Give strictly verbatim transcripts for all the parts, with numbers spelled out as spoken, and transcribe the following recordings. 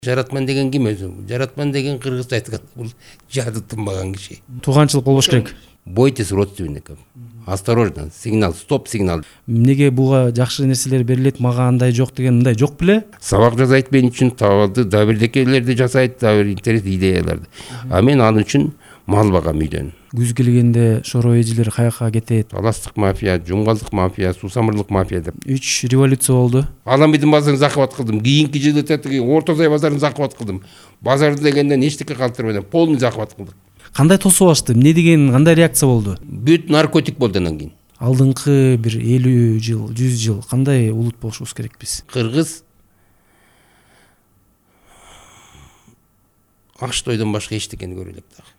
Жаратман деген ким өзү? Жаратман деген кыргызча айтканда бул жады тынбаган киши. Тууганчылык болбош керек. Бойтесь родственников. Осторожно, сигнал, стоп сигнал. Эмнеге буга жакшы нерселер берилет, мага андай жок деген мындай жок беле? Сабак жасайт мен үчүн, табалды, дабирдекелерди жасайт, дабир интерес идеяларды. А мен ал үчүн мал багам үйдөн. Күз келгенде шоро эжилер каяка кетет? Таластык мафия, жумгалдык мафия, сусамырлык мафия деп. Үч революция болду. Аламидин базарын закыбат кылдым. Кийинки жылы тетиги Орто Сай базарын закыбат кылдым. Базар дегенден эчтеке калтырбайм, полный закыбат кылдык. Кандай тосуп алышты? Эмне деген кандай реакция болду? Бүт наркотик болду андан кийин. Алдыңкы бир элүү жыл, жүз жыл кандай улут болушубуз керек биз? Кыргыз аш тойдон башка эчтекени көрө элек дагы.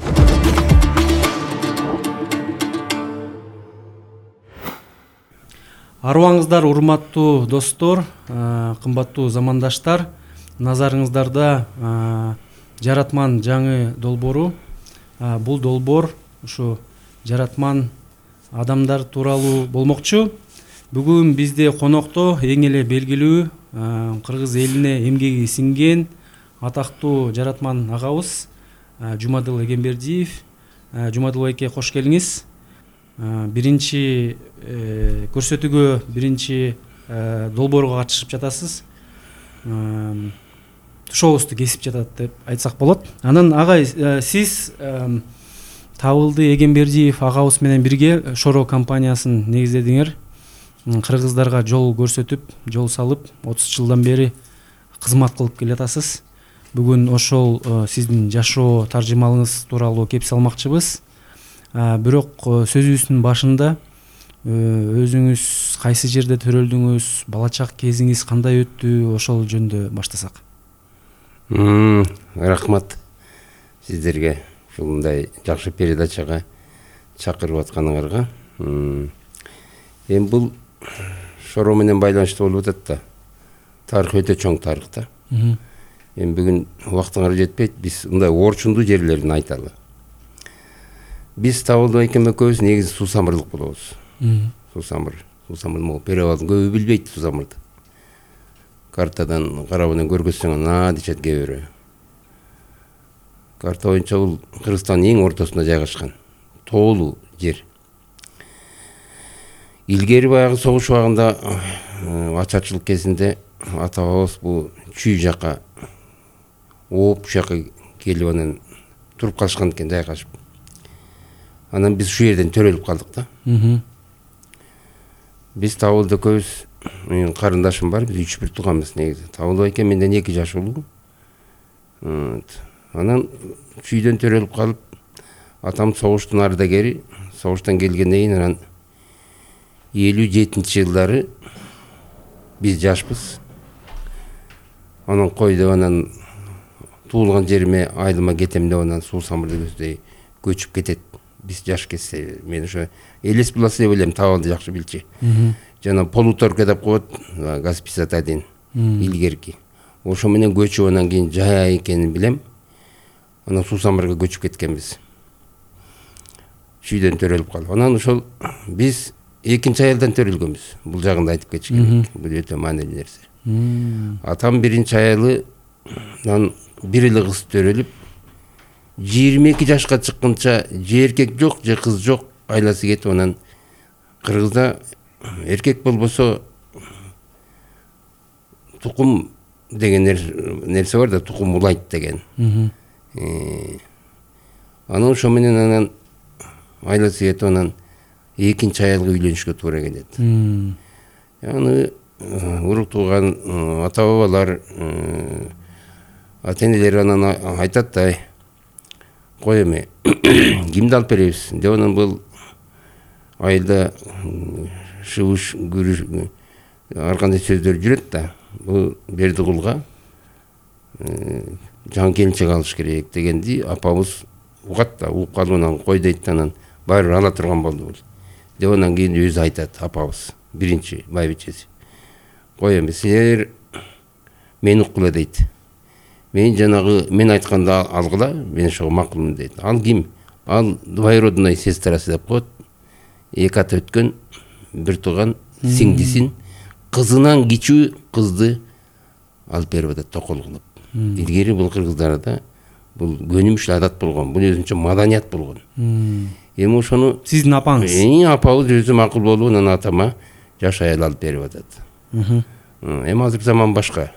Арыбаңыздар, урматтуу достор, кымбаттуу замандаштар, назарыңыздарда Жаратман жаңы долбоору. Бул долбоор ушу Жаратман адамдар тууралуу болмокчу. Бүгүн бизде конокто эң эле белгилүү кыргыз элине эмгеги сиңген атактуу Жаратман агабыз Жумадыл Эгембердиев. Жумадыл байке, кош келиңиз. Биринчи көрсөтүүгө, биринчи долбоорго катышып жатасыз. Тушообузду кесип жатат деп айтсак болот. Анан агай, сиз Табылды Эгембердиев агабыз менен бирге Шоро компаниясын негиздедиңер. Кыргыздарга жол көрсөтүп, жол салып, отуз жылдан бери кызмат кылып келатасыз. Бүгүн ошол сиздин жашоо таржымалыңыз тууралуу кеп салмакчыбыз. Бирок сөзүбүздүн башында өзүңүз кайсы жерде төрөлдүңүз, бала чак кезиңиз кандай өттү, ошол жөнүндө баштасак. Рахмат сиздерге ушундай жакшы передачага чакырып атканыңарга. Эми бул Шоро менен байланыштуу болуп атат да. Тарых өтө чоң тарых да. Эми бүгүн убактыңар жетпейт, биз мындай орчундуу жерлерин айталы. Биз Табылды байкем экөөбүз негизи сусамырлык болобуз. Сусамыр, сусамыр могу перевалдын көбү билбейт сусамырды. Картадан карап анан көргөзсөң на дешет кээ бирөө. Карта боюнча бул Кыргызстандын эң ортосунда жайгашкан тоолуу жер. Илгери баягы согуш убагында ачарчылык кезинде ата бабабыз бул чүй жака ооп ушул жака келип анан туруп калышкан экен жайгашып. Анан биз ушул жерден төрөлүп калдык да. Биз Табылды экөөбүз, менин карындашым бар, биз үч бир тууганбыз негизи. Табылды байке менден эки жаш улуу. Анан чүйдөн төрөлүп калып, атам согуштун ардагери, согуштан келгенден кийин анан элүү жетинчи жылдары биз жашпыз. Анан кой деп анан туулган жериме айылыма кетем деп анан Суусамырды көздөй көчүп кетет. Биз жаш кетсе, мен ошо элес буласы деп элем, Табылды жакшы билчү. Жана полуторка деп коет, газ пятьдесят один илгерки. Ошо менен көчүп анан кийин жай экенин билем. Анан Суусамырга көчүп кеткенбиз. Чүйдөн төрөлүп калып. Анан ошол биз экинчи айылдан төрөлгөнбүз. Бул жагында айтып кетиш керек. Бул өтө маанилүү нерсе. Атам биринчи айылынан бир эле кыз төрөлүп, жыйырма эки жашка чыкканча же эркек жок, же кыз жок, айласы кетип анан Кыргызда эркек болбосо тукум деген нерсе бар да, тукум улайт деген. Анан ошо менен анан айласы кетип анан экинчи айылга үйлөнүшкө туура келет. Аны урук тууган ата бабалар, ата энелер анан айтат да, кой эми кимди алып беребиз деп анан бул айылда шыбыш күрүш ар кандай сөздөр жүрөт да. Бул Бердикулга жаңы келинчек алыш керек дегенди апабыз угат да, угуп калып анан кой дейт да, анан баары ала турган болду бул. Деп анан кийин өзү айтат апабыз, биринчи байбичеси. Кой эми силер мени уккула дейт. Мен жанагы мен айтканды алгыла, мен ошого макулмун дейт. Ал ким? Ал двоюродная сестрасы деп коет. Эки ата өткөн бир тууган сиңдисин кызынан кичүү кызды алып берип атат токол кылып. илгери бул кыргыздарда бул көнүмүш адат болгон, бул өзүнчө маданият болгон. Эми ошону сиздин апаңыз эң апабыз өзү макул болуп анан атама жаш аял алып берип атат. Эми азыр заман башка.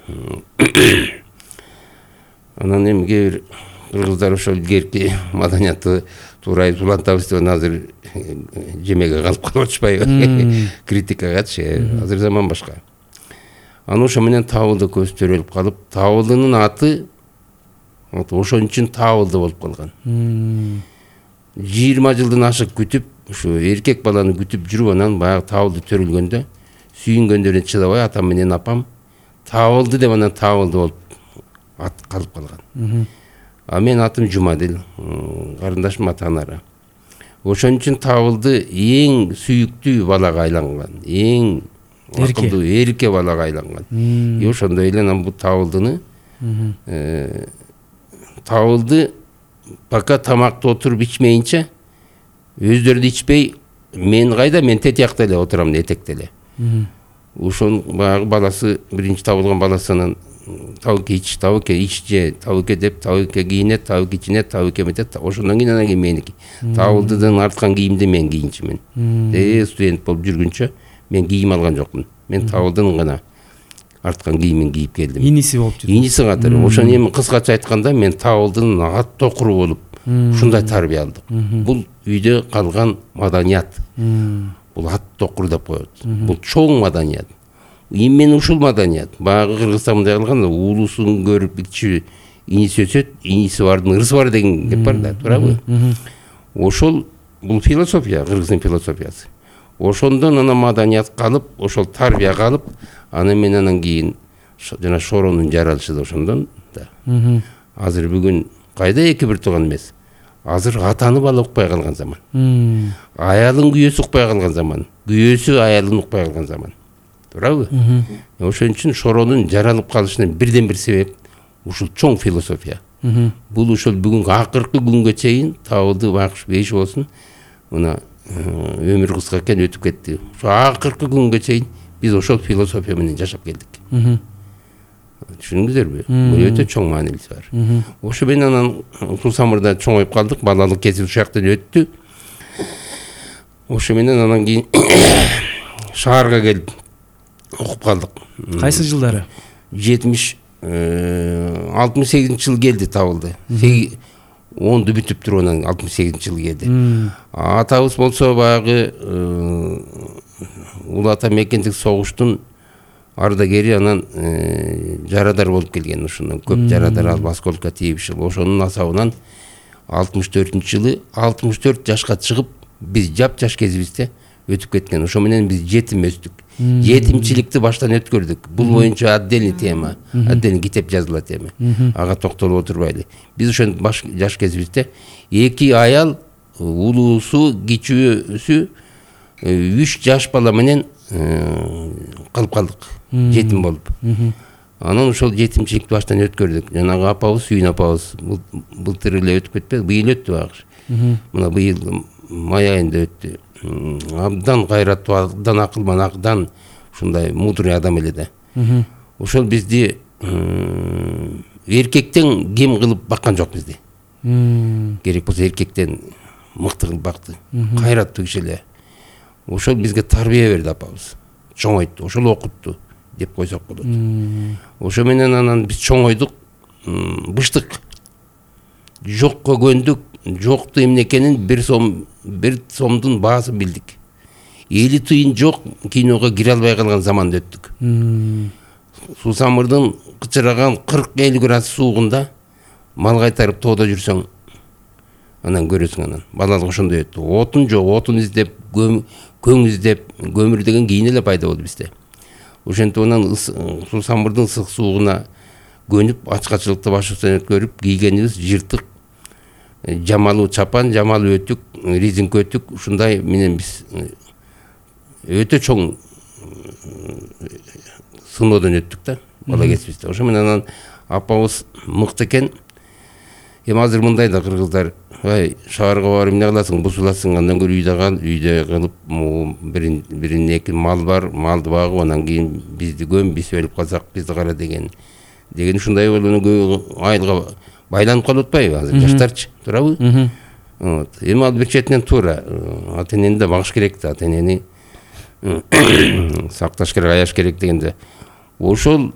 Анан эми кээ бир кыргыздар ошол илгерки маданиятты туура улантабыз деп азыр жемеге калып калып атышпайбы? Критикагачы. Азыр заман башка. Анан ошо менен Табылды көз төрөлүп калып, Табылдынын аты ошон үчүн Табылды болуп калган. жыйырма жылдан ашык күтүп, ушу эркек баланы күтүп жүрүп, анан баягы Табылды төрөлгөндө сүйүнгөндөрүнө чыдабай атам менен апам Табылды деп анан Табылды болуп ат калып калган. А мен атым Жумадил, карындашым Атанара. Ошон үчүн Табылды эң сүйүктүү балага айланган, эң акылдуу эрке балага айланган. И ошондой эле анан бул Табылдыны Табылды пока тамакты отуруп ичмейинче, өздөрү да ичпей, мен кайда, мен тетиякта эле отурам, этекте эле. Ошон баягы баласы, биринчи табылган баласы анан табыке ич, табыке ич же, табыке деп, табыке кийинет, табыке ичинет, табыке метет. Ошондон кийин анан кийин меники. Табылдыдан арткан кийимди мен кийинчүмүн. Э студент болуп жүргүнчө мен кийим алган жокмун. Мен Табылдынын гана арткан кийимин кийип келдим. Иниси болуп жүрдү. Иниси катары. Ошон эми кыскача айтканда мен Табылдынын ат токуру болуп ушундай тарбия алдык. Бул үйдө калган маданият. Бул ат токур деп коет. Бул чоң маданият. Именно ушул маданият. Баягы Кыргызстан мындай кылган, улусын көрүп кичи иниси өсөт, иниси бардын ырысы бар деген кеп бар да, туурабы? Ошол бул философия, кыргыздын философиясы. Ошондон анан маданият калып, ошол тарбия калып, анан мен анан кийин жана Шоронун жаралышы да ошондон да. Азыр бүгүн кайда эки бир тууган эмес. Азыр атаны бала укпай калган заман. Аялын күйөөсү укпай калган заман. Күйөөсү аялын укпай калган заман. Туурабы? Ошон үчүн Шоронун жаралып калышынын бирден бир себеп ушул чоң философия. Бул ушул бүгүнкү акыркы күнгө чейин Табылды бакыш бейиш болсун. Мына өмүр кыска экен, өтүп кетти. Ошо акыркы күнгө чейин биз ошол философия менен жашап келдик. Түшүндүңүздөрбү? Бул өтө чоң маанилиси бар. Ошо менен анан Сусамырда чоңоюп калдык, балалык кези ушактан өттү. Ошо менен анан кийин шаарга келип окуп калдык. Кайсы жылдары? жетимиш алтымыш сегизинчи жылы келди Табылды. онду бүтүп туруп анан алтымыш сегизинчи жылы келди. Атабыз болсо баягы Улуу Ата Мекендик согуштун ардагери, анан жарадар болуп келген. Ошондон көп жарадар алып осколкко тийишип, ошонун асабынан алтымыш төртүнчү жылы алтымыш төрт жашка чыгып, биз жап-жаш кезибизде өтүп кеткен. Ошо менен биз жетим өстүк. Жетимчиликти баштан өткөрдүк. Бул боюнча отдельный тема, отдельный китеп жазылат эми. Ага токтолуп отурбайлы. Биз ошон жаш кезибизде эки аял, улуусу, кичүүсү, үч жаш бала менен калып калдык, жетим болуп. Анан ошол жетимчиликти баштан өткөрдүк. Жанагы апабыз, Сүйүн апабыз былтыр эле өтүп кетпеди, быйыл өттү багыш. Мына быйыл май айында өттү. Абдан кайраттуу, абдан акылман, абдан ушундай мудрый адам эле да. Ошол бизди эркектен кем кылып баккан жок бизди. Керек болсо эркектен мыкты кылып бакты. Кайраттуу киши эле. Ошол бизге тарбия берди апабыз. Чоңойту, ошол окутту деп койсок болот. Ошо менен анан биз чоңойдук, быштык. Жокко көндүк, жокту эмне экенин бир сом, бир сомдун баасын билдик. Эли тыйын жок, киного кире албай калган заманда өттүк. Сусамырдын кычыраган кырк элүү градус суугунда мал кайтарып тоодо жүрсөң, анан көрөсүң анан. Балалык ошондой өттү. Отун жок, отун издеп, көң издеп, көмүр деген кийин эле пайда болду бизде. Ошентип анан Сусамырдын ысык суугуна көнүп, ачкачылыкты башыбыздан өткөрүп, кийгенибиз жыртык жамалуу чапан, жамалуу өтүк, резинка өтүк, ушундай менен биз өтө чоң сыноодон өттүк да, бала кезибизде. Ошо менен анан апабыз мыкты экен. Эми азыр мындай да кыргыздар, ай, шаарга барып эмне кыласың, бузуласың, андан көрө үйдө кал, үйдө кылып, бирин бирин эки мал бар, малды багып, анан кийин бизди көм, биз өлүп калсак бизди кара деген деген ушундай болуп айылга байланып калып атпайбы азыр жаштарчы, туурабы? Вот. Эми ал бир четинен туура. Ата энени да багыш керек да, ата энени сакташ керек, аяш керек дегенде. Ошол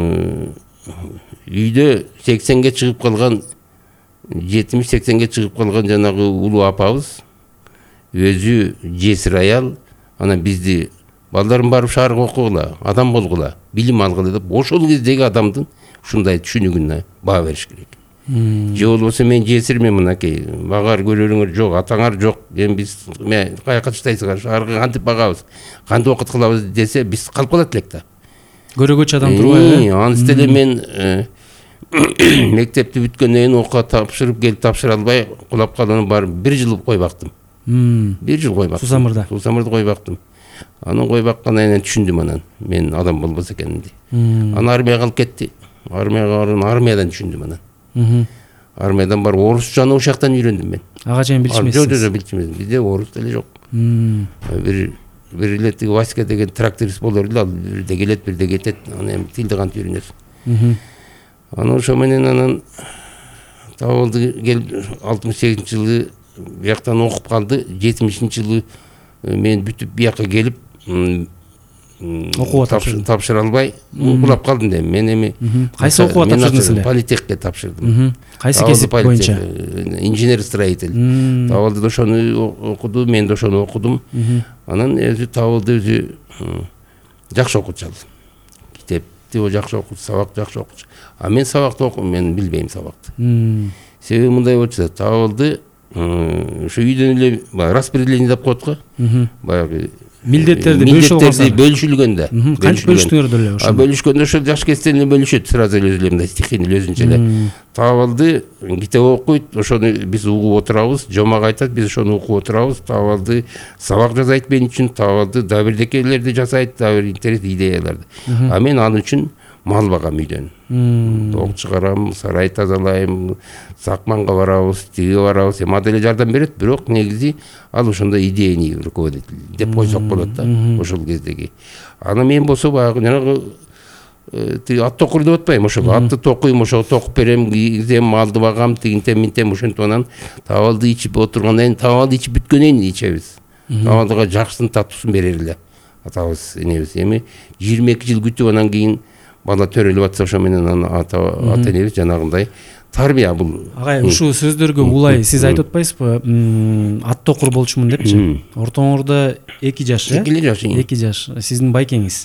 үйдө сексенге чыгып калган, жетимиш сексенге чыгып калган жанагы улуу апабыз өзү жесир аял, анан бизди балдарым барып шаарга окугула, адам болгула, билим алгыла деп, ошол кездеги адамдын ушундай түшүнүгүнө баа бериш керек. Же болбосо мен жесирмин, мынакей багар көрөрүңөр жок, атаңар жок, эми биз каяка таштайсыңар, шаарга кантип багабыз, кантип окут кылабыз десе, биз калып калат элек да. Көрөгөчү адам турбайбы? Анысы деле мен мектепти бүткөндөн кийин окууга тапшырып келип тапшыра албай кулап калган бар бир жыл кой бактым. Бир жыл кой бактым. Сусамырда. Сусамырда кой бактым. Анан кой баккандан кийин түшүндүм анан мен адам болбос экенимди. Анан армияга алып кетти. Армияга барып, армиядан түшүндүм анан. Армиядан барып орусчаны ошол жактан үйрөндүм мен. Ага чейин билчүмүсүз? Жок, жок, билчүмүз. Бизде орус деле жок. Бир бир эле тиги Васька деген тракторист болор эле, ал бирде келет, бирде кетет. Анан эми тилди кантип үйрөнөсүң. Анан ошо менен анан табылды келип алтымыш сегизинчи жылы бияктан окуп калды. жетимишинчи жылы мен бүтүп бияка келип окууга тапшыра албай кулап калдым да. Мен эми кайсы окууга тапшырдыңыз эле? Политехке тапшырдым. Кайсы кесип боюнча? Инженер-строитель. Табылды ошону окуду, мен да ошону окудум. Анан өзү табылды өзү жакшы окутчу ал. Китепти жакшы окутчу, сабак жакшы окутчу. А мен сабакты окум, мен билбейм сабакты. Себеби мындай болчу, табылды ошо үйдөн эле распределение деп коет го. Баягы милдеттерди бөлүшүлгөндө. Кантип бөлүштүңөр деле ошо? А бөлүшкөндө ошо жаш кезден эле бөлүшөт, сразу эле өзү эле мындай стихийный өзүнчө эле. Табылды, китеп окуйт, ошону биз угуп отурабыз, жомак айтат, биз ошону угуп отурабыз. Табылды, сабак жазайт мен үчүн, табылды, да бирдекелерди жасайт, да бир интерес идеяларды. А мен ал үчүн мал багам үйдөн. Тоок чыгарам, сарай тазалайм, сакманга барабыз, тиге барабыз, эми деле жардам берет, бирок негизи ал ошондой идейный руководитель деп койсок болот да, ошол кездеги. Аны мен болсо баягы жанагы тиги ат токур деп атпайм, ошол атты токуйм, ошого токуп берем, кийгизем, малды багам, тигинтем, минтем, ошентип анан табалды ичип отургандан кийин, табалды ичип бүткөндөн кийин ичебиз. Табалдыга жакшысын татуусун берер эле атабыз, энебиз. Эми жыйырма эки жыл күтүп анан кийин бала төрөлүп атса, ошо менен ата энебиз жанагындай тарбия бул. Агай, ушул сөздөргө улай сиз айтып атпайсызбы? Ат токур болчумун депчи. Ортоңордо эки жаш, э? эки жаш. эки жаш. Сиздин байкеңиз.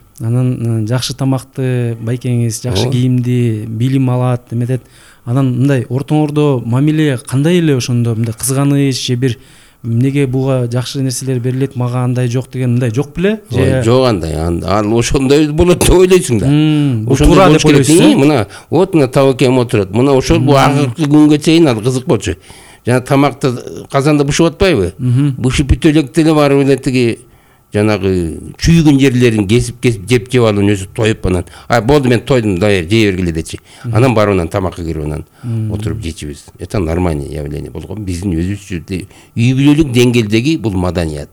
Анан жакшы тамакты байкеңиз, жакшы кийимди, билим алат, эметет. Анан мындай ортоңордо мамиле кандай эле ошондо, мындай кызганыч же бир эмнеге буга жакшы нерселер берилет, мага андай жок деген мындай жок беле? Жок андай. Ал ошондой болот деп ойлойсуң да. Ошондой болуш керек. Мына вот мына табакем отурат. Мына ошол бу акыркы күнгө чейин ал кызык болчу. Жана тамакты казанда бышып атпайбы? Бышып бүтө электе эле барып эле тиги жанагы чүйгүн жерлерин кесип-кесип жеп жеп алып өзү тоюп анан, а болду мен тойдум, даяр жей бергиле дечи. Анан барып анан тамакка кирип анан отуруп жечибиз. Это нормальный явление болгон. Биздин өзүбүзчө үй бүлөлүк деңгээлдеги бул маданият.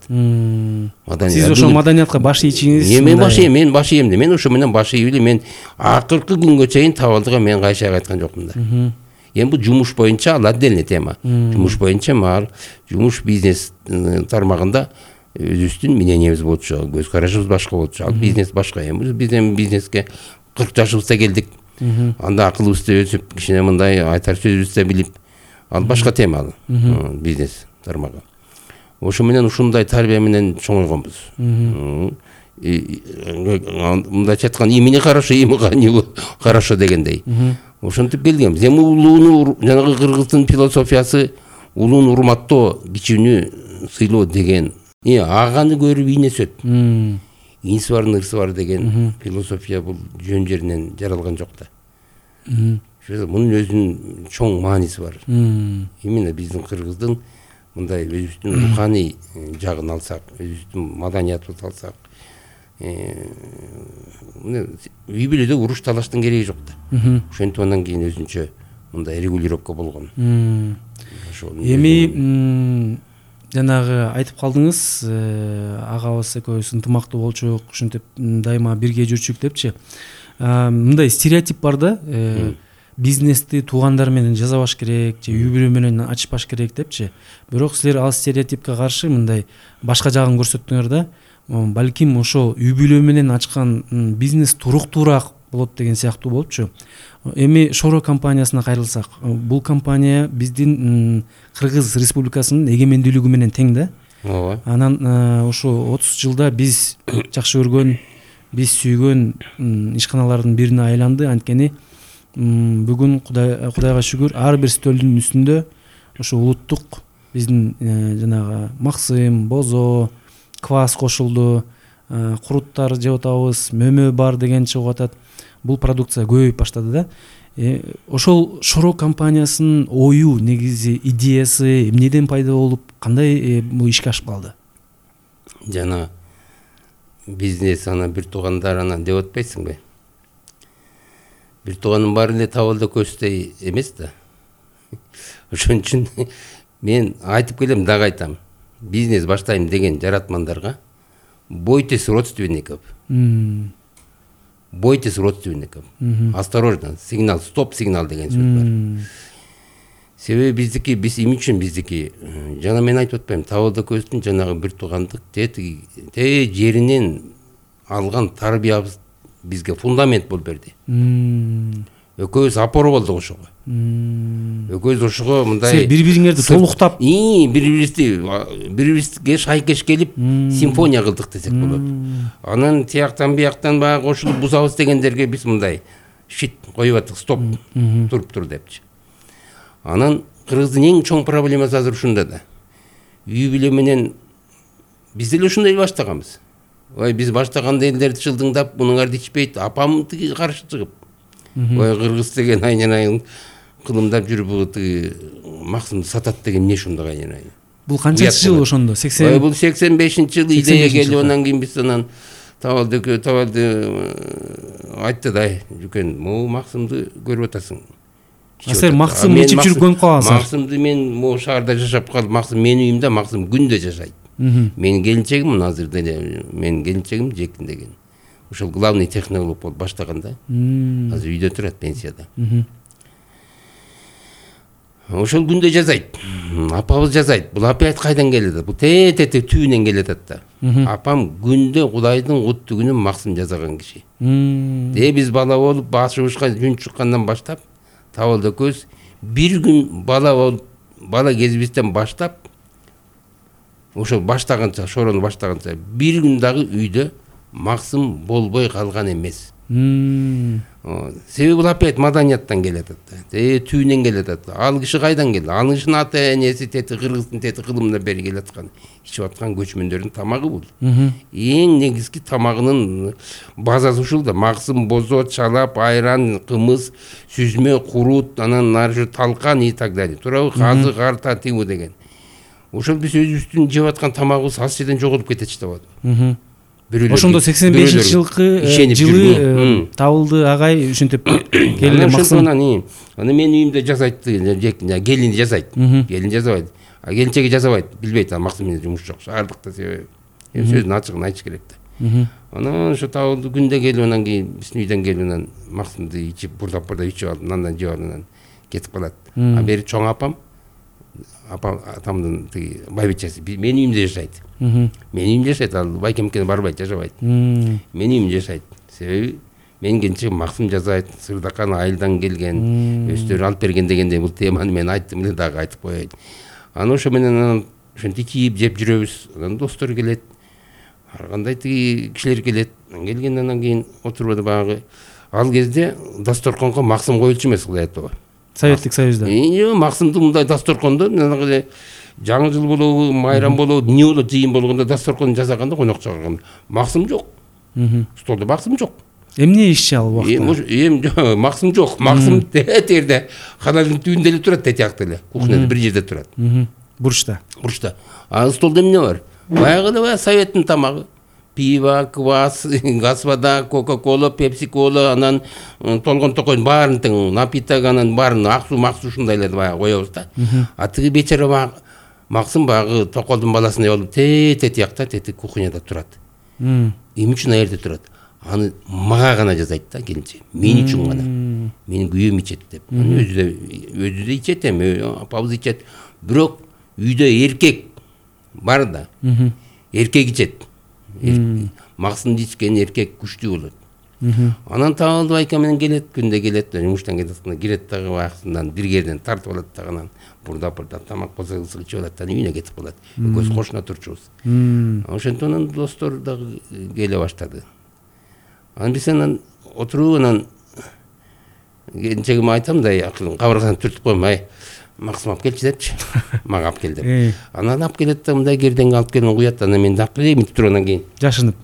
Сиз ошол маданиятка баш ийчиңиз? Мен баш ийем, мен баш ийем. Мен ошо менен баш ийип эле мен акыркы күнгө чейин табалдыга мен кайша айткан жокмун да. Эми бул жумуш боюнча ал отдельный тема. Жумуш боюнча мал, жумуш бизнес тармагында өзүбүздүн мнениябыз болчу, көз карашыбыз башка болчу. Ал бизнес башка. Эми биз бизнеске кырк жашыбызда келдик. Анда акылыбызды өсүп, кичине мындай айтар сөзүбүздү билип, ал башка тема ал. Бизнес тармагы. Ошо менен ушундай тарбия менен чоңойгонбуз. Мындайча айтканда, имени хорошо, имени хорошо дегендей. Ошентип келгенбиз. Эми улууну, жанагы кыргыздын философиясы улууну урматтоо, кичүүнү сыйлоо деген. Э, аганы көрүп ийне сөт. Инси бар, ырсы бар деген философия бул жөн жеринен жаралган жок да. Мунун өзүнүн чоң мааниси бар. Именно биздин кыргыздын мындай өзүбүздүн руханий жагын алсак, өзүбүздүн маданиятыбызды алсак, үй бүлөдө уруш талаштын кереги жок да. Ошентип андан кийин өзүнчө мындай регулировка болгон. Эми жанагы айтып калдыңыз, агабыз экөөбүз ынтымактуу болчук, ушинтип дайыма бирге жүрчүк депчи. мындай стереотип бар да, бизнести туугандар менен жасабаш керек же үй бүлө менен ачпаш керек депчи. Бирок силер ал стереотипке каршы мындай башка жагын көрсөттүңөр да. Балким ошо үй бүлө менен ачкан бизнес туруктуураак болот деген сыяктуу болупчу. Эми Шоро компаниясына кайрылсак, бул компания биздин Кыргыз Республикасынын эгемендүүлүгү менен тең да. Ооба. Анан ошо отуз жылда биз жакшы көргөн, биз сүйгөн ишканалардын бирине айланды. Анткени бүгүн Кудай Кудайга шүгүр ар бир стөлдүн үстүндө ошо улуттук биздин жанагы максым, бозо, квас кошулду, куруттар жеп атабыз, мөмө бар деген чыгып атат. Бул продукция көбөйүп баштады да. Э, ошол Шоро компаниясынын ою, негизи идеясы эмнеден пайда болуп, кандай бул ишке ашып калды? Жана бизнес ана бир туугандар анан деп атпайсыңбы? Бир тууганын баары эле табалда көздөй эмес да. Ошон үчүн мен айтып келем, дагы айтам. Бизнес баштайм деген жаратмандарга бойтесь родственников. Бойтесь родственников. Осторожно, сигнал, стоп сигнал деген сөз бар. Себеби биздики, биз эми үчүн биздики, жана мен айтып атпайм, табалда көздүн жанагы бир туугандык те жеринен алган тарбиябыз бизге фундамент болуп берди. Экөөбүз опора болдук ошого. Экөөбүз ошого мындай силер бири-бириңерди толуктап, и бири-бирибизди бири-бирибизге шайкеш келип симфония кылдык десек болот. Анан тияктан бияктан баягы кошулуп бузабыз дегендерге биз мындай шит коюп аттык, стоп, туруп тур депчи. Анан Кыргыздын эң чоң проблемасы азыр ушунда да. Үй бүлө менен биз деле ушундай баштаганбыз. Ой, биз баштаганда элдерди чылдыңдап, мунуңарды ичпейт, апам тиги каршы чыгып. Ой, кыргыз деген айнанайын кылымдап жүрүп, тиги максымды сатат деген эмне ушундай айнанайын. Бул канчанчы жыл ошондо? сексен Ой, бул сексен бешинчи жылы идея келип, анан кийин биз анан табалды табалды айтты да, жүкен, могу максымды көрүп атасың. Силер максым ичип жүрүп көнүп калгансыңар. Максымды мен могу шаарда жашап калып, максым менин үйүмдө максым күндө жашайт. Менин келинчегим азыр деле, менин келинчегим Жекин деген. Ошол главный технолог болуп баштаганда, азыр үйдө турат, пенсияда. Ошол күндө жазайт. Апабыз жазайт. Бул опять кайдан келет? Бул те-те түйүнөн келет да. Апам күндө Кудайдын куттугүнүн максым жазаган киши. Де биз бала болуп, башыбызга жүн чыккандан баштап, табалда көз бир күн бала болуп, бала кезибизден баштап, ошол баштаганча, Шорону баштаганча бир күн дагы үйдө максым болбой калган эмес. Себеби бул опять маданияттан келет да. Э, түйүнөн келет да. Ал киши кайдан келди? Ал кишинин ата энеси тети Кыргыздын тети кылымына бери келаткан, ичип аткан көчмөндөрдүн тамагы бул. Эң негизги тамагынын базасы ушул да. Максым, бозо, чалап, айран, кымыз, сүзмө, курут, анан наржы талкан и так далее. Туурабы? Казы, карта, тигу деген. Ошол биз өзүбүздүн жеп аткан тамагыбыз ал жерден жоголуп кетет да. Ошондо сексен бешинчи жылкы жылы табылды агай ушинтип келип максым. Анан мен үйүмдө жасайт, келин жасайт. Келин жасабайт. А келинчеги жасабайт, билбейт, а максым менен жумуш жок. Шаардыкта себеби. Сөздүн ачыгын айтыш керек да. Анан ошо табылды күндө келип, анан кийин биздин үйдөн келип, анан максымды ичип, бурдап-бурдап ичип алып, андан жеп алып, анан кетип калат. А бери чоң апам, апам атамдын тиги байбичеси менин үйүмдө жашайт. Менин үйүмдө жашайт, ал байкемкене барбайт, жашабайт. Менин үйүмдө жашайт. Себеби менин келинчегим максым жасайт, Сырдакан айылдан келген, өздөрү алып берген дегенде бул теманы мен айттым эле, дагы айтып коеюн. Анан ошо менен анан ошентип ичип жеп жүрөбүз. Анан достор келет. Ар кандай тиги кишилер келет. Келгенден кийин отурбады багы. Ал кезде дасторконго максым коюлчу эмес, Кудай айтпагы. Советтик Союзда. Э, максымды мындай дасторкондо жаңы жыл болобу, майрам болобу, эмне болот, жыйын болгондо дасторкон жасаганда, конок чыгарганда максым жок. Столдо максым жок. Эмне ишчи ал убакта? Эм максым жок. Максым тетерде каналдын түбүндө эле турат, тетиякта эле. Кухняда бир жерде турат. Бурчта. Бурчта. А столдо эмне бар? Баягы эле советтин тамагы. Пиво, квас, газ-вода, кока-кола, пепси-кола, анан толгон токойн баарын тең, напиток, анан баарын аксу, максу ушундайларды баягы коебуз да. А тиги бечара баягы максым баягы токолдун баласындай болуп те-те тиякта, тети кухняда турат. Эмне үчүн ал жерде турат? аны мага гана жасайт да келинче, мен үчүн гана, менин күйөөм ичет деп. Аны өзү да өзү да ичет эми, апабыз ичет. Бирок үйдө эркек бар да, эркек ичет. Максымды ичкен эркек күчтүү болот. Анан Табылды байка менен келет, күндө келет, жумуштан кетет, кирет дагы убактысынан бир жерден тартып алат дагы, бурдап-бурдап тамак болсо ичип алат да, үйүнө кетип калат. Экөөбүз кошуна турчубуз. Ошентип анан достор дагы келе баштады. Анан биз анан отуруп анан келинчегиме айтам да, акылым кабыргасынан түртүп коем, ай, Максым алып келчи депчи. Мага алып кел деп. Анан алып келет да, мындай кердеңге алып келип куят, анан мен алып келейин деп туруп анан кийин. Жашынып.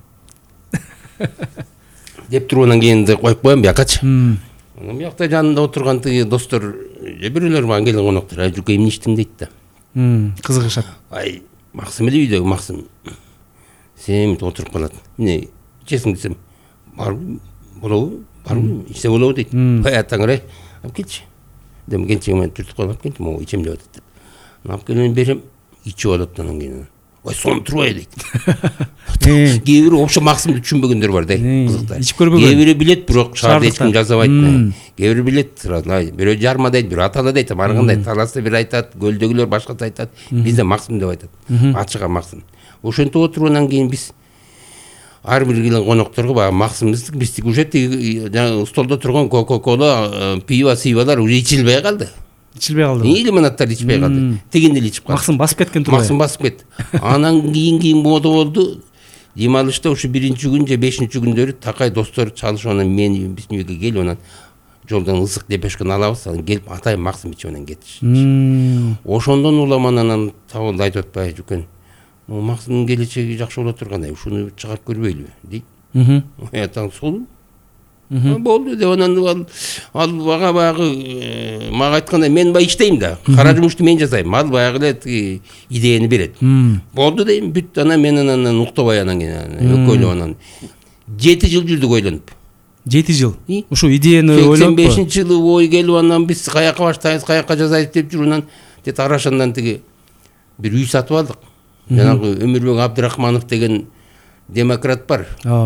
Деп туруп анан кийин коюп коем биякачы. Анан биякта жанында отурган тиги достор, же бирөөлөр мага келген коноктор, ай Жуке эмне иштиң дейт да. Кызыгышат. Ай, Максым эле үйдөгү Максым. Сен отуруп калат. Эмне ичесиң десем, барбы, болобу, барбы, ичсе болобу дейт. Ай, атаңыр ай, алып келчи. Дем келчегиме түртүп коюп келчи, могу ичем деп атат деп. Алып келип берем, ичип алат анан кийин. Ой, сон турбай дейт. Кээ бир вообще Максымды түшүнбөгөндөр бар да, кызыкта. Ичип көрбөгөн. Кээ бири билет, бирок шаарда эч ким жазабайт. Кээ бири билет, бирөө жарма дейт, бирөө аталы дейт, баргандай таласты бир айтат, көлдөгүлөр башкача айтат, бизде Максым деп айтат. Ачыга Максым. Ошентип отуруп анан кийин биз ар бир келген конокторго баягы Максымбыздык, биздики уже жана столдо турган кока-кола, пиво, сивалар уже ичилбей калды. Ичилбей калды. Лимонадтар ичпей калды. Тегин эле ичип калды. Максым басып кеткен турбайбы? Максым басып кетти. Анан кийин кийин мода болду. Дем алышта ушу биринчи күн же бешинчи күндөрү такай достор чалышып анан мени биздин үйгө келип анан жолдон ысык депешкени алабыз, анан келип атай Максым ичип анан кетишти. Ошондон улам анан Табылды айтып атпайбы, Жукен, Максымдын келечеги жакшы боло тургандай, ушуну чыгарып көрбөйлүбү дейт. Атаң сол болду деп анан ал ал бага баягы мага айтканда мен баягы иштейм да, кара жумушту мен жасайм, ал баягы эле тиги идеяны берет. Болду дейм, бүт анан мен анан уктабай анан экөөлөп анан жети жыл жүрдүк ойлонуп. жети жыл. Ушу идеяны ойлоп сексен бешинчи жылы ой келип анан биз каяка баштайбыз, каяка жасайбыз деп жүрүп анан тет Арашандан тиги бир үй сатып алдык. Жанагы Өмүрбек Абдрахманов деген демократ бар.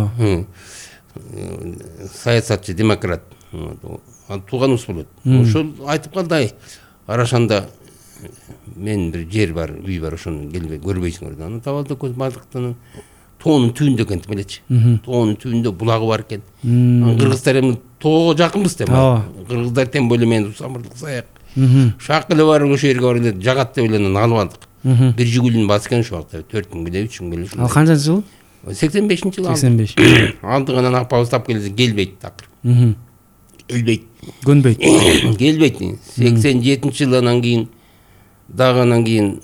Саясатчы демократ. Ал тууганыбыз болот. Ошол айтып калды, ай, Арашанда мен бир жер бар, үй бар, ошону келбей көрбөйсүңөр. Анан Табылды көз бардыктан тоонун түбүндө экен белечи. Тоонун түбүндө булагы бар экен. Анан кыргыздар эми тоого жакынбыз деп. Кыргыздар тем более мен самырдык саяк. Шак эле бар ошол жерге бар эле жагат деп эле анан алып алдык. Бир жигулин бас экен ошол вакытта, төрт күнгө, үч күнгө эле. Ал канчанчы жыл? сексен бешинчи жылы. сексен беш. Алдык анан апабыз тап келсе келбейт такыр. Келбейт. Көнбөйт. Келбейт. сексен жетинчи жылы анан кийин дагы анан кийин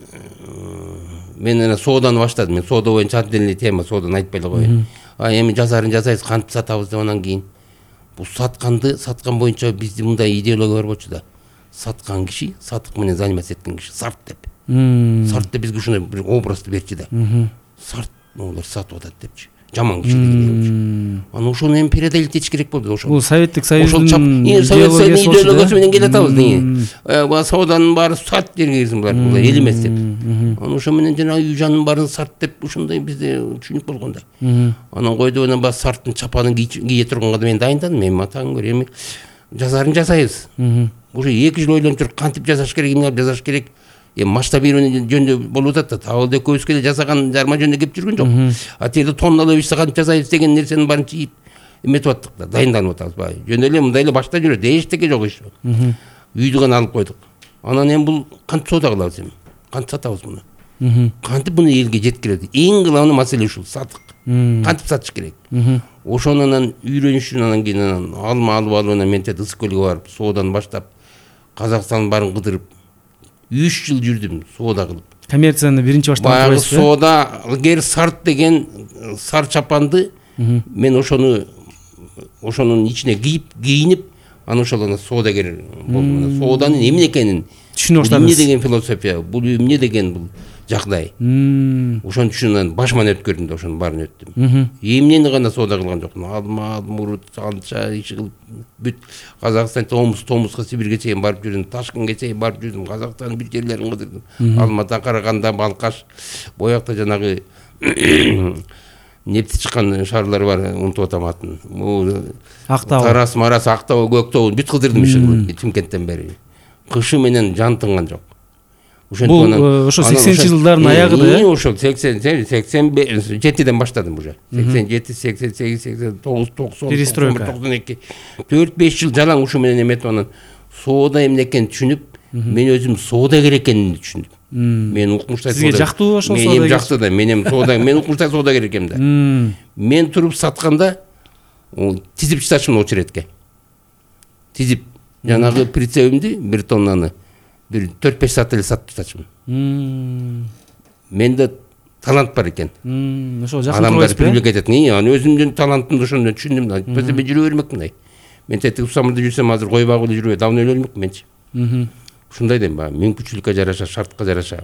мен анан сооданы баштадым. Мен соода боюнча отдельный тема, сооданы айтпай эле коеюн. А эми жазарын жасайбыз, кантип сатабыз деп анан кийин бул сатканды, саткан боюнча бизде мындай идеология бар болчу да. Саткан киши, сатык менен заниматься эткен киши сарт деп. Сарт деп бизге ушундай бир образды берчи да. Сарт олар сатып атат депчи. Жаман киши деген. Анан ошону эми передалить этиш керек болду. Ошол. Бул Советтик Союздун идеологиясы менен келе атабыз неге. Бул сооданын баары сарт жерге кирсин булар, булар эл эмес деп. Анан ошо менен жана үй жанын баарын сарт деп ушундай бизде түшүнүк болгондой. Анан койду анан баа сарттын чапанын кие турганга да мен дайындадым. Эми атаң көр, эми жазарын жасайбыз. Уже эки жыл ойлонуп туруп кантип жасаш керек, эмне кылып жасаш керек. Эми масштабирование жөнүндө болуп атат да. Табылды экөөбүз келе жасаган жарма жөнүндө кеп жүргөн жок. А тиги тонналап ишти кантип жасайбыз деген нерсенин баарын чийип эметип аттык да, дайындалып атабыз баа. Жөн эле мындай эле башта жүрөт, эчтеке жок иш. Үйдү гана алып койдук. Анан эми бул кантип соода кылабыз эми? Кантип сатабыз муну? Кантип муну элге жеткиребиз? Эң кылымдуу маселе ушул, сатык. Кантип сатыш керек? Ошону анан үйрөнүшүн анан кийин анан алма алып алып анан мен тет Ысык көлгө барып, соодан баштап Казакстандын баарын кыдырып үч жыл жүрдүм соода кылып. Коммерцияны биринчи баштан баягы соода ылгер сарт деген сар чапанды мен ошону ошонун ичине кийип, кийинип, анан ошол анан соодагер болдум. Сооданын эмне экенин түшүнүп баштадым. Эмне деген философия, бул эмне деген бул жагдай. Ошону түшүнүп башыман өткөрдүм да ошонун баарын өттүм. Эмнени гана соода кылган жокмун. Алма, мурут, алча, иш кылып бүт Казакстан, Томск, Томскка, Сибирге чейин барып жүрдүм, Ташкентке чейин барып жүрдүм, Казакстандын бүт жерлерин кыдырдым. Алмата, Караганда, Балкаш, боякта жанагы нефти чыккан шаарлар бар, унутуп атам атын. Бул Актау. Тарас, Марас, Актау, Көктау бүт кыдырдым иши Чимкенттен бери. Кышы менен жан тынган жок. Бул ошо сексенчи жылдардын аягыда э? Ошо сексен жетиден баштадым уже. сексен жети, сексен сегиз, сексен тогуз, токсон, перестройка, токсон эки. төрт беш жыл жалаң ушу менен эметип анан соода эмне экенин түшүнүп, мен өзүм соодагер экенин түшүндүм. Мен укмуштай сизге жактуу ошол соодагер. Менин жакты да, менин соода, мен укмуштай соодагер экенмин да. Мен туруп сатканда тизип чытачмын очередке. Тизип жанагы прицебимди бир тоннаны бир төрт беш саат эле сатып чытачмын. Менде талант бар экен. Ошо жакын адамдар привлекать этет. Аны өзүмдүн талантымды ошондо түшүндүм да. Мен жүрө бермекмин да. Мен тетип усамырда жүрсөм азыр кой багып эле жүрөй, давно эле өлмөкмүн менчи. Ушундай дейм ба, мүмкүнчүлүккө жараша, шартка жараша.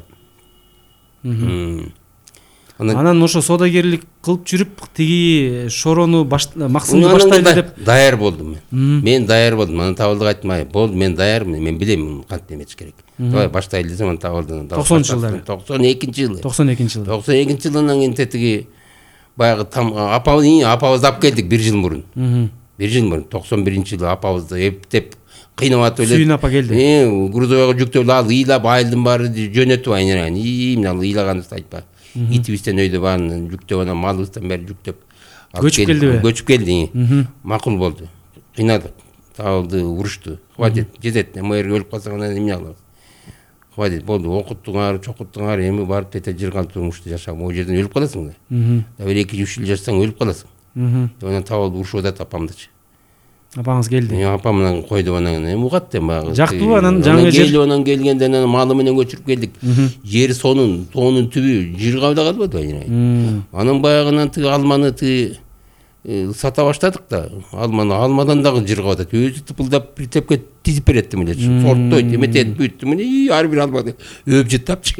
Анан ошо соодагерлик кылып жүрүп тиги шорону максымды баштайлы деп даяр болдум мен. Мен даяр болдум. Анан Табылдыга айттым, ай, болду, мен даярмын, мен билем кантип эмеш керек. Давай баштайлы десем, анан Табылдыны токсонунчу жылдары. токсон экинчи жылы. токсон экинчи жылы. токсон экинчи жылынан кийин тетиги баягы апабыз апабызды алып келдик бир жыл мурун. бир жыл мурун токсон биринчи жылы апабызды эптеп кыйнап атып эле. Сүйүн апа келди. Э, грузовойго жүктөп ал ыйлап, айылдын баары жөнөтүп айныран. И, мен ал ыйлаганды айтпа. Итибизден өйдө баарын жүктөп, анан малыбыздан бери жүктөп. Көчүп келдиби? Көчүп келди. Макул болду. Кыйнадык. Табылды, урушту. Хватит, жетет. Мэрге өлүп калсаң анан эмне кылабыз? Хватит, болду. Окуттуңар, чокуттуңар, эми барып тете жырган турмушта жашап, могу жерден өлүп каласың да. Да бир эки үч жыл жашасаң өлүп каласың. Анан Табылды урушуп атат апамдычы. Апаңыз келди. Мен апам менен койду, анан эми угат да багы. Жактуу, анан жаңы жер. Келди, анан келгенде анан малы менен көчүрүп келдик. Жер сонун, тоонун түбү жыргап да калбады айнай. Анан баягынан тиги алманы тиги сата баштадык да. Алманы алмадан дагы жыргап атат. Өзү тыпылдап прицепке тизип берет эле. Сорттойт, эметет, бүттү. Мына ар бир алманы өп жыттапчы.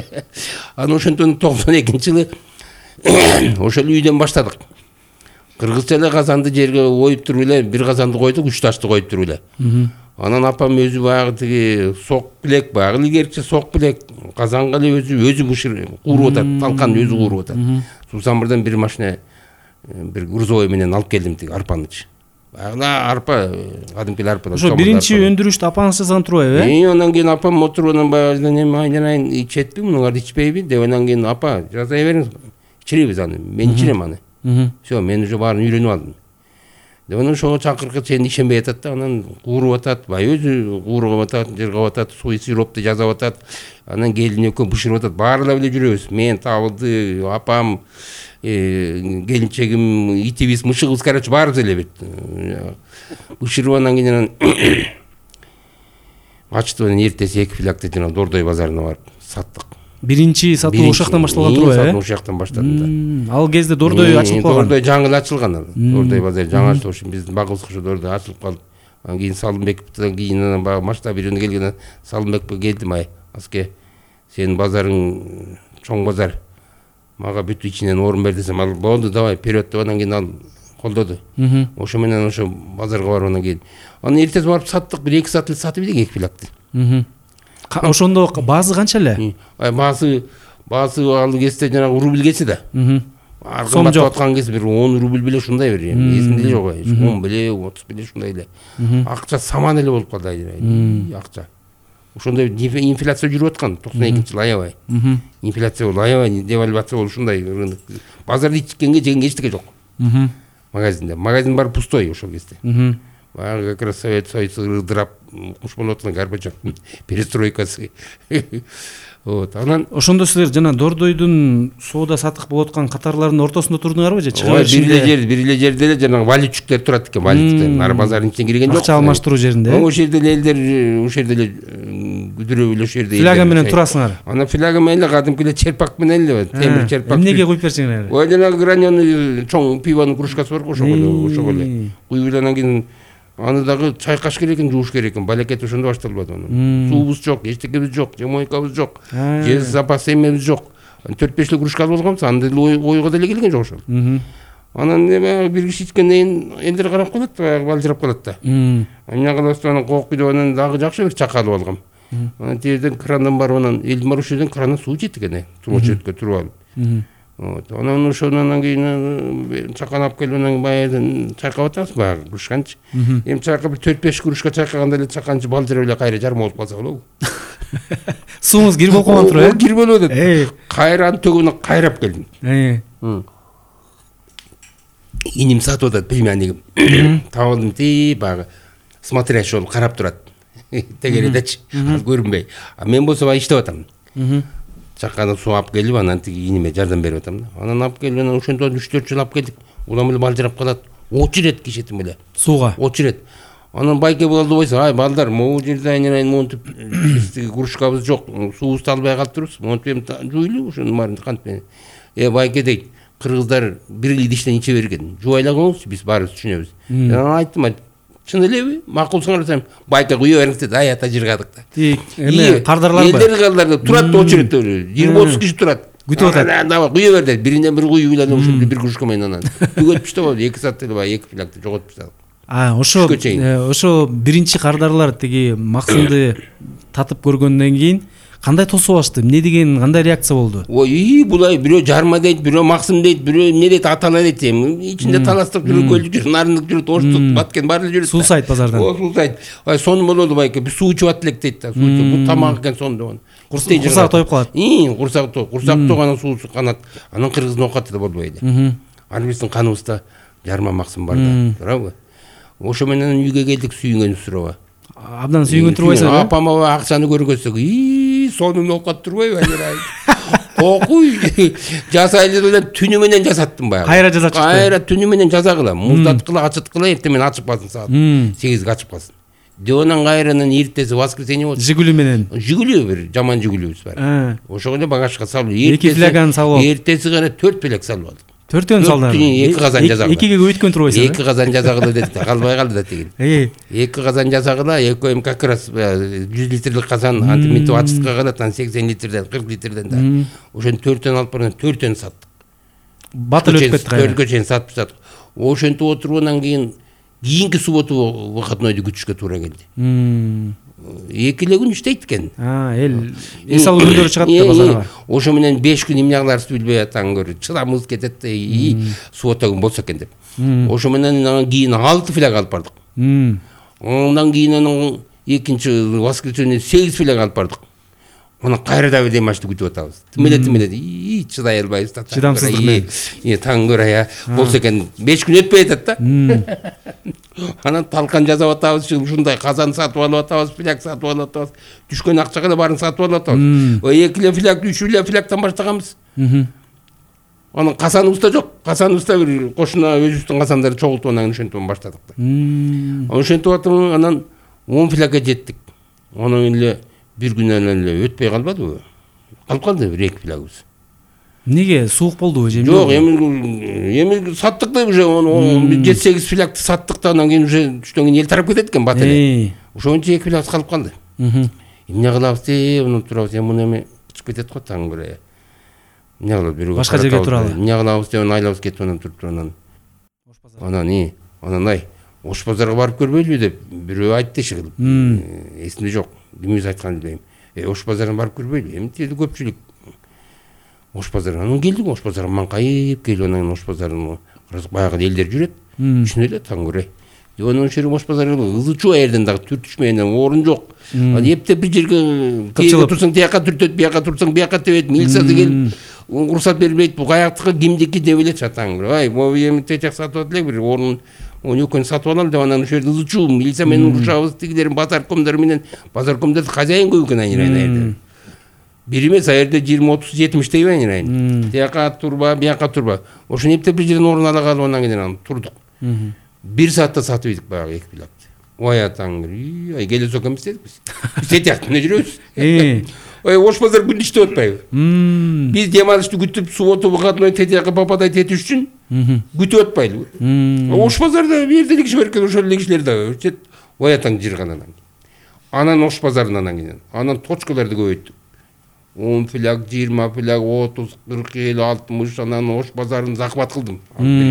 Анан ошентен токсон экинчи жылы ошол үйдөн баштадык. Кыргызча эле казанды жерге оюп туруп эле, бир казанды койдук, үч ташты коюп туруп эле. Анан апам өзү баягы тиги сок билек, баягы илгерчи сок билек, казанга эле өзү өзү бышыр кууруп атат, талканды өзү кууруп атат. Сусамырдан бир машина бир грузовой менен алып келдим тиги арпанычы. Баягы арпа, кадимки арпа. Ошо биринчи өндүрүштү апаңыз жазган турбайбы, э? И анан кийин апам отуруп анан баягы эме айнайын ичетпи, мунуңарды ичпейби деп анан кийин апа жаза бериңиз. Ичиребиз аны, мен ичирем аны. Все, мен уже баарын үйрөнүп алдым. Деп анан ошого чакыркы сен ишенбей атат да, анан кууруп атат, бай өзү кууруп атат, жыргап атат, суй сиропты жасап атат. Анан келин экөө бышырып атат, баарылап эле жүрөбүз. Мен, Табылды, апам, келинчегим, итибиз, мышыгыбыз, короче, баарыбыз эле бет. Бышырып анан кийин анан ачтып анан эртеси эки филякты жана Дордой базарына барып саттык. Биринчи сатуу ошол жактан башталган турбайбы, э? Ошол жактан баштадым да. Ал кезде Дордой ачылып калган. Дордой жаңы ачылган ал. Дордой базары жаңы ачылып, ошо биздин багыбыз ошо Дордой ачылып калып. Анан кийин Салымбековдон кийин анан баягы масштаб үйрөнүп келген Салымбековго келдим, ай, Аске, сенин базарың чоң базар. Мага бүт ичинен орун бер десем, ал болду, давай, вперед деп анан кийин ал колдоду. Ошо менен ошо базарга барып анан кийин. Анан эртеси барып саттык, бир эки саат эле сатып элек эки филякты. Ошондо баасы канча эле? Ай, баасы, баасы ал кезде жанагы рубль кеси да. Сом жок. Аткан кез бир он рубль беле ушундай бир. Эсимде эле жок, он беле, отуз беле ушундай эле. Акча саман эле болуп калды, акча. Ошондой инфляция жүрүп аткан токсон экинчи жылы аябай. Инфляция болду, аябай девальвация болду, ушундай рынок. Базарда ичкенге жегенге эчтеке жок. Магазинде. Магазин бар пустой ошол кезде. Баягы как раз Совет Союзу ырдырап куш болуп аткан Горбачев перестройкасы. Вот, анан ошондо силер жана Дордойдун соода сатык болуп аткан катарларынын ортосунда турдуңарбы же чыгып бир эле жер, бир эле жерде эле жанагы валютчуктер турат экен, валюттар. Нары базардын ичине кирген жок. Акча алмаштыруу жеринде. Ошол жерде эле элдер, ошол жерде эле күдүрөп эле ошол жерде. Фляга менен турасыңар. Анан фляга менен эле кадимки эле черпак менен эле, темир черпак. Эмнеге куюп берсеңер? Ой, жанагы граненый чоң пивонун кружкасы бар го, ошого эле, ошого эле. Куюп анан кийин аны дагы чайкаш керек экен, жууш керек экен. Балекет ошондо башталбады анан. Суубуз жок, эчтекебиз жок, жемойкабыз жок, же запас эмебиз жок. төрт беш эле кружка алып алганбыз, анда деле ойго деле келген жок ошол. Анан эме бир киши ичкенден кийин элдер карап калат, баягы балжырап калат да. Эмне кылабыз, анан коок күйдөп анан дагы жакшы бир чака алып алгам. Анан тиерден крандан барып анан элдин бар ошол жерден крандан суу жетти экен, суу очередке туруп алып. Вот. Анан ошонан кийин чакан алып келип анан баягыдан чайкап атабыз баягы кружканчы. Эми чайкап төрт беш кружка чайкаганда эле чаканчы балдыр эле кайра жарым болуп калса болобу. Сууңуз кир болуп калган туруп, э? Кир болуп атат. Кайра анын төгүнүн кайрап келдим. Иним сатып атат племяннигим. Табылдым ти баягы смотрящий болуп карап турат. Тегеридечи, көрүнбөй. А мен болсо баягы иштеп атам. Чаканы суу алып келип, анан тиги иниме жардам берип атам да. Анан алып келип, анан ошондон үч төрт жыл алып келдик. Улам эле балжырап калат. Очерет кишетим эле. Сууга. Очерет. Анан байке болду бойсо, ай балдар, могу жерде айнырайын монтип тиги кружкабыз жок, суубузду албай калыптырбыз. Монтип эми жуйлу ошонун баарын кантип. Э байке дейт, кыргыздар бир идиштен иче берген. Жубайлагыңызчы, биз баарыбыз түшүнөбүз. Анан айттым, чын элеби? Макулсуңар десем, байке куя бериңиз деди. Ай ата жыргадык да. Эме кардарларбы? Элдер кардарлар турат очередте жыйырма отуз киши турат. Күтүп атат. Давай куя бер деди. Биринен бир куюп эле ошондо бир кружка менен анан. Түгөтүп таштап, эки саат эле баягы эки флягты жоготуп таштадык. А, ошо ошо биринчи кардарлар тиги Максымды татып көргөндөн кийин кандай тосуп алышты? Эмне деген, кандай реакция болду? Ой, булай бирөө жарма дейт, бирөө Максым дейт, бирөө эмне дейт, атала дейт. Ичинде таластык жүрүп, көлдүк жүрүп, нарындык жүрүп, оштук, баткен баары эле жүрүп. Суу сайт базардан. О, суу сайт. Ай, сонун болду байке. Биз суу ичип аттык дейт да. Суу ичип, бул тамак экен сонун деп. Курсак тоюп калат. Ии, курсак тоюп, курсак тоюганан суусу канат. Анан кыргыздын оокаты да болбойт. Аны биздин каныбызда жарма Максым бар да, туурабы? Ошо менен үйгө келдик, сүйүнгөн сурабы. Абдан сүйүнгөн турбайсың, э? Апама акчаны көргөзсөк, ии, сонун оокат турбайбы, айнырай. Окуй, жасайлы эле түнү менен жасаттым баягы. Кайра жаза чыкты. Кайра түнү менен жазагыла, муздаткыла, ачыткыла, эртең менен ачып калсын саат сегизге ачып калсын. Дионан кайранын эртеси воскресенье болду. Жигули менен. Жигули бир жаман жигулибиз бар. Ошого эле багажга салып, эки фляганы салып. Эртеси гана төрт фляг салып алдык. Төртөн салдыңар. эки казан жазагыла. экиге көбөйткөн турбайсың. эки казан жазагыла деди, калбай калды да тиги. эки казан жазагыла, экөөм как раз жүз литрлик казан антиминтип ачыткыга калат, анан сексен литрден, кырк литрден да. Ошону төртөн алып барып, төртөн саттык. Батыл өтүп кетти кайра. Төрткө чейин сатып саттык. Ошентип отургандан кийин кийинки субботу выходнойду күтүшкө туура келди. Эки эле күн иштейт экен. А, эл эс алуу күндөрү чыгат да базарга. Ошо менен беш күн эмне кыларыбызды билбей атаң көрү. Чыдамыбыз кетет да, суббота күн болсо экен деп. Ошо менен анан кийин алты фляг алып бардык. Андан кийин анан экинчи воскресенье сегиз фляг алып бардык. Анан кайра да демашты күтүп атабыз. Тимеле тимеле, ии, чыдай албайбыз да. Чыдамсыздык менен. Ии, таң көрө, болсо экен беш күн өтпөй атат да. Анан талкан жасап атабыз, ушундай казан сатып алып атабыз, фляг сатып алып атабыз. Түшкөн акчага да баарын сатып алып атабыз. Ой, эки эле фляг, үч эле флягтан баштаганбыз. Анан казаныбыз да жок. Казаныбыз да бир кошуна өзүбүздүн казандарды чогултуп анан ошентип баштадык да. Ошентип атып анан он флягга жеттик. Анан эле бир күнөн эле өтпөй калбадыбы? Калып калды бир эки флягыбыз. Эмнеге, суук болдубу же? Жок, эми эми саттык да уже жети сегиз флягты саттык да, анан кийин уже түштөн кийин эл тарап кетет экен бат эле. Ошончо эки флягыбыз калып калды. Эмне кылабыз деп анан турабыз, эми муну эми чыгып кетет го таң көрө. Эмне кылабыз, бирөө башка жерге туралы. Эмне кылабыз деп айлабыз кетип анан туруп анан. Анан и, анан ай, Ош базарга барып көрбөйлүбү деп бирөө айтты иши кылып. Эсимде жок. Кимиз айтканын билбейм. Э, Ош базарына барып көрбөйлү. Эми тиги көпчүлүк Ош базарына анан келдик, Ош базарга маңкайып келип анан Ош базарына баягы элдер жүрөт. Үчүнө эле таң көрөй. Анан ошо жерге Ош базары ызы чуу аерден дагы түртүшмөйүн, орун жок. Анан эптеп бир жерге келип турсаң, тияка түртөт, бияка турсаң, бияка тебет, милициясы келип уруксат бербейт. Бул каяктыкы кимдики деп эле чатаң. Ай, могу эми течак сатып атып эле бир орун он экөөнү сатып алалы деп анан ошо жерде ызы чуу, милиция менен урушабыз, тигилерин базаркомдор менен, базаркомдор хозяин көп экен айнырайын. Бир эмес, а жерде жыйырма отуз жетимиштей айнырайын. Тияка турба, бияка турба. Ошону эптеп бир жерден орун ала калып анан кийин турдук. Бир саатта сатып ийдик баягы эки флягты. Ой атаң, ай келе сокомуз дедик биз. Биз тияктан эле жүрөбүз. Ой, Ош базар күндү иштеп атпайбы? Биз дем алышты күтүп, субботу выходной тетияка попадай тетиш үчүн күтүп атпайлыбы? Ош базарда бир жерде киши бар экен, ошол эле кишилер да өчөт. Ой атаң жырган анан. Анан Ош базарынан кийин, анан точкаларды көбөйттүк. он фляг, жыйырма фляг, отуз, кырк, элүү, алтымыш, анан Ош базарын захват кылдым.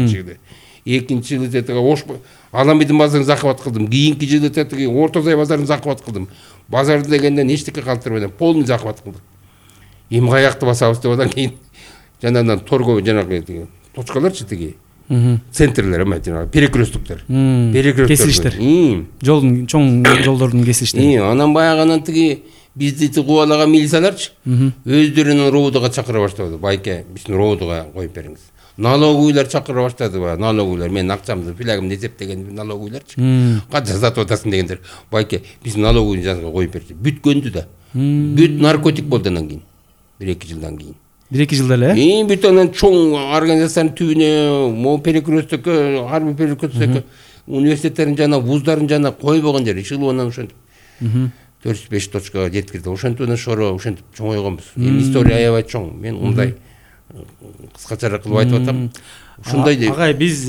Экинчи жылы тетиги Ош Аламидин базарын захват кылдым. Кийинки жылы тетиги Орто Сай базарын захват кылдым. Базарды дегенден эчтеке калтырбайдан полный захват кылдык. Эми каякты басабыз деп анан кийин жанагындан торго жанагы тиги точкаларчы тиги центрлер эме жанагы перекресттуктар перекресттер кесилиштер жолдун чоң жолдордун кесилиштери анан баягы тиги бизди кубалаган милицияларчы өздөрүнүн роудуга чакыра баштады. Байке биздин роудуга коюп бериңиз. Налоговыйлар чакыра баштады. Налоговыйлар менин акчамды филягымды эсептеген налоговыйларчы. Канча сатып атасың дегендер. Байке биз налоговый жанга коюп берди. Бүткөндү да. Бүт наркотик болду анан кийин. бир эки жылдан кийин. бир эки жылда эле? Эң бүт анан чоң организациянын түбүнө, могу перекресттөккө, Ар бир перекресттөккө университеттердин жана вуздардын жана койбогон жери Шылуунан ошентип төрт жүз беш точкага жеткирди. Ошентип анан шоро ошентип чоңойгонбуз. Эми история аябай чоң. Мен мындай кыскачараак кылып айтып атам. Ушундай агай биз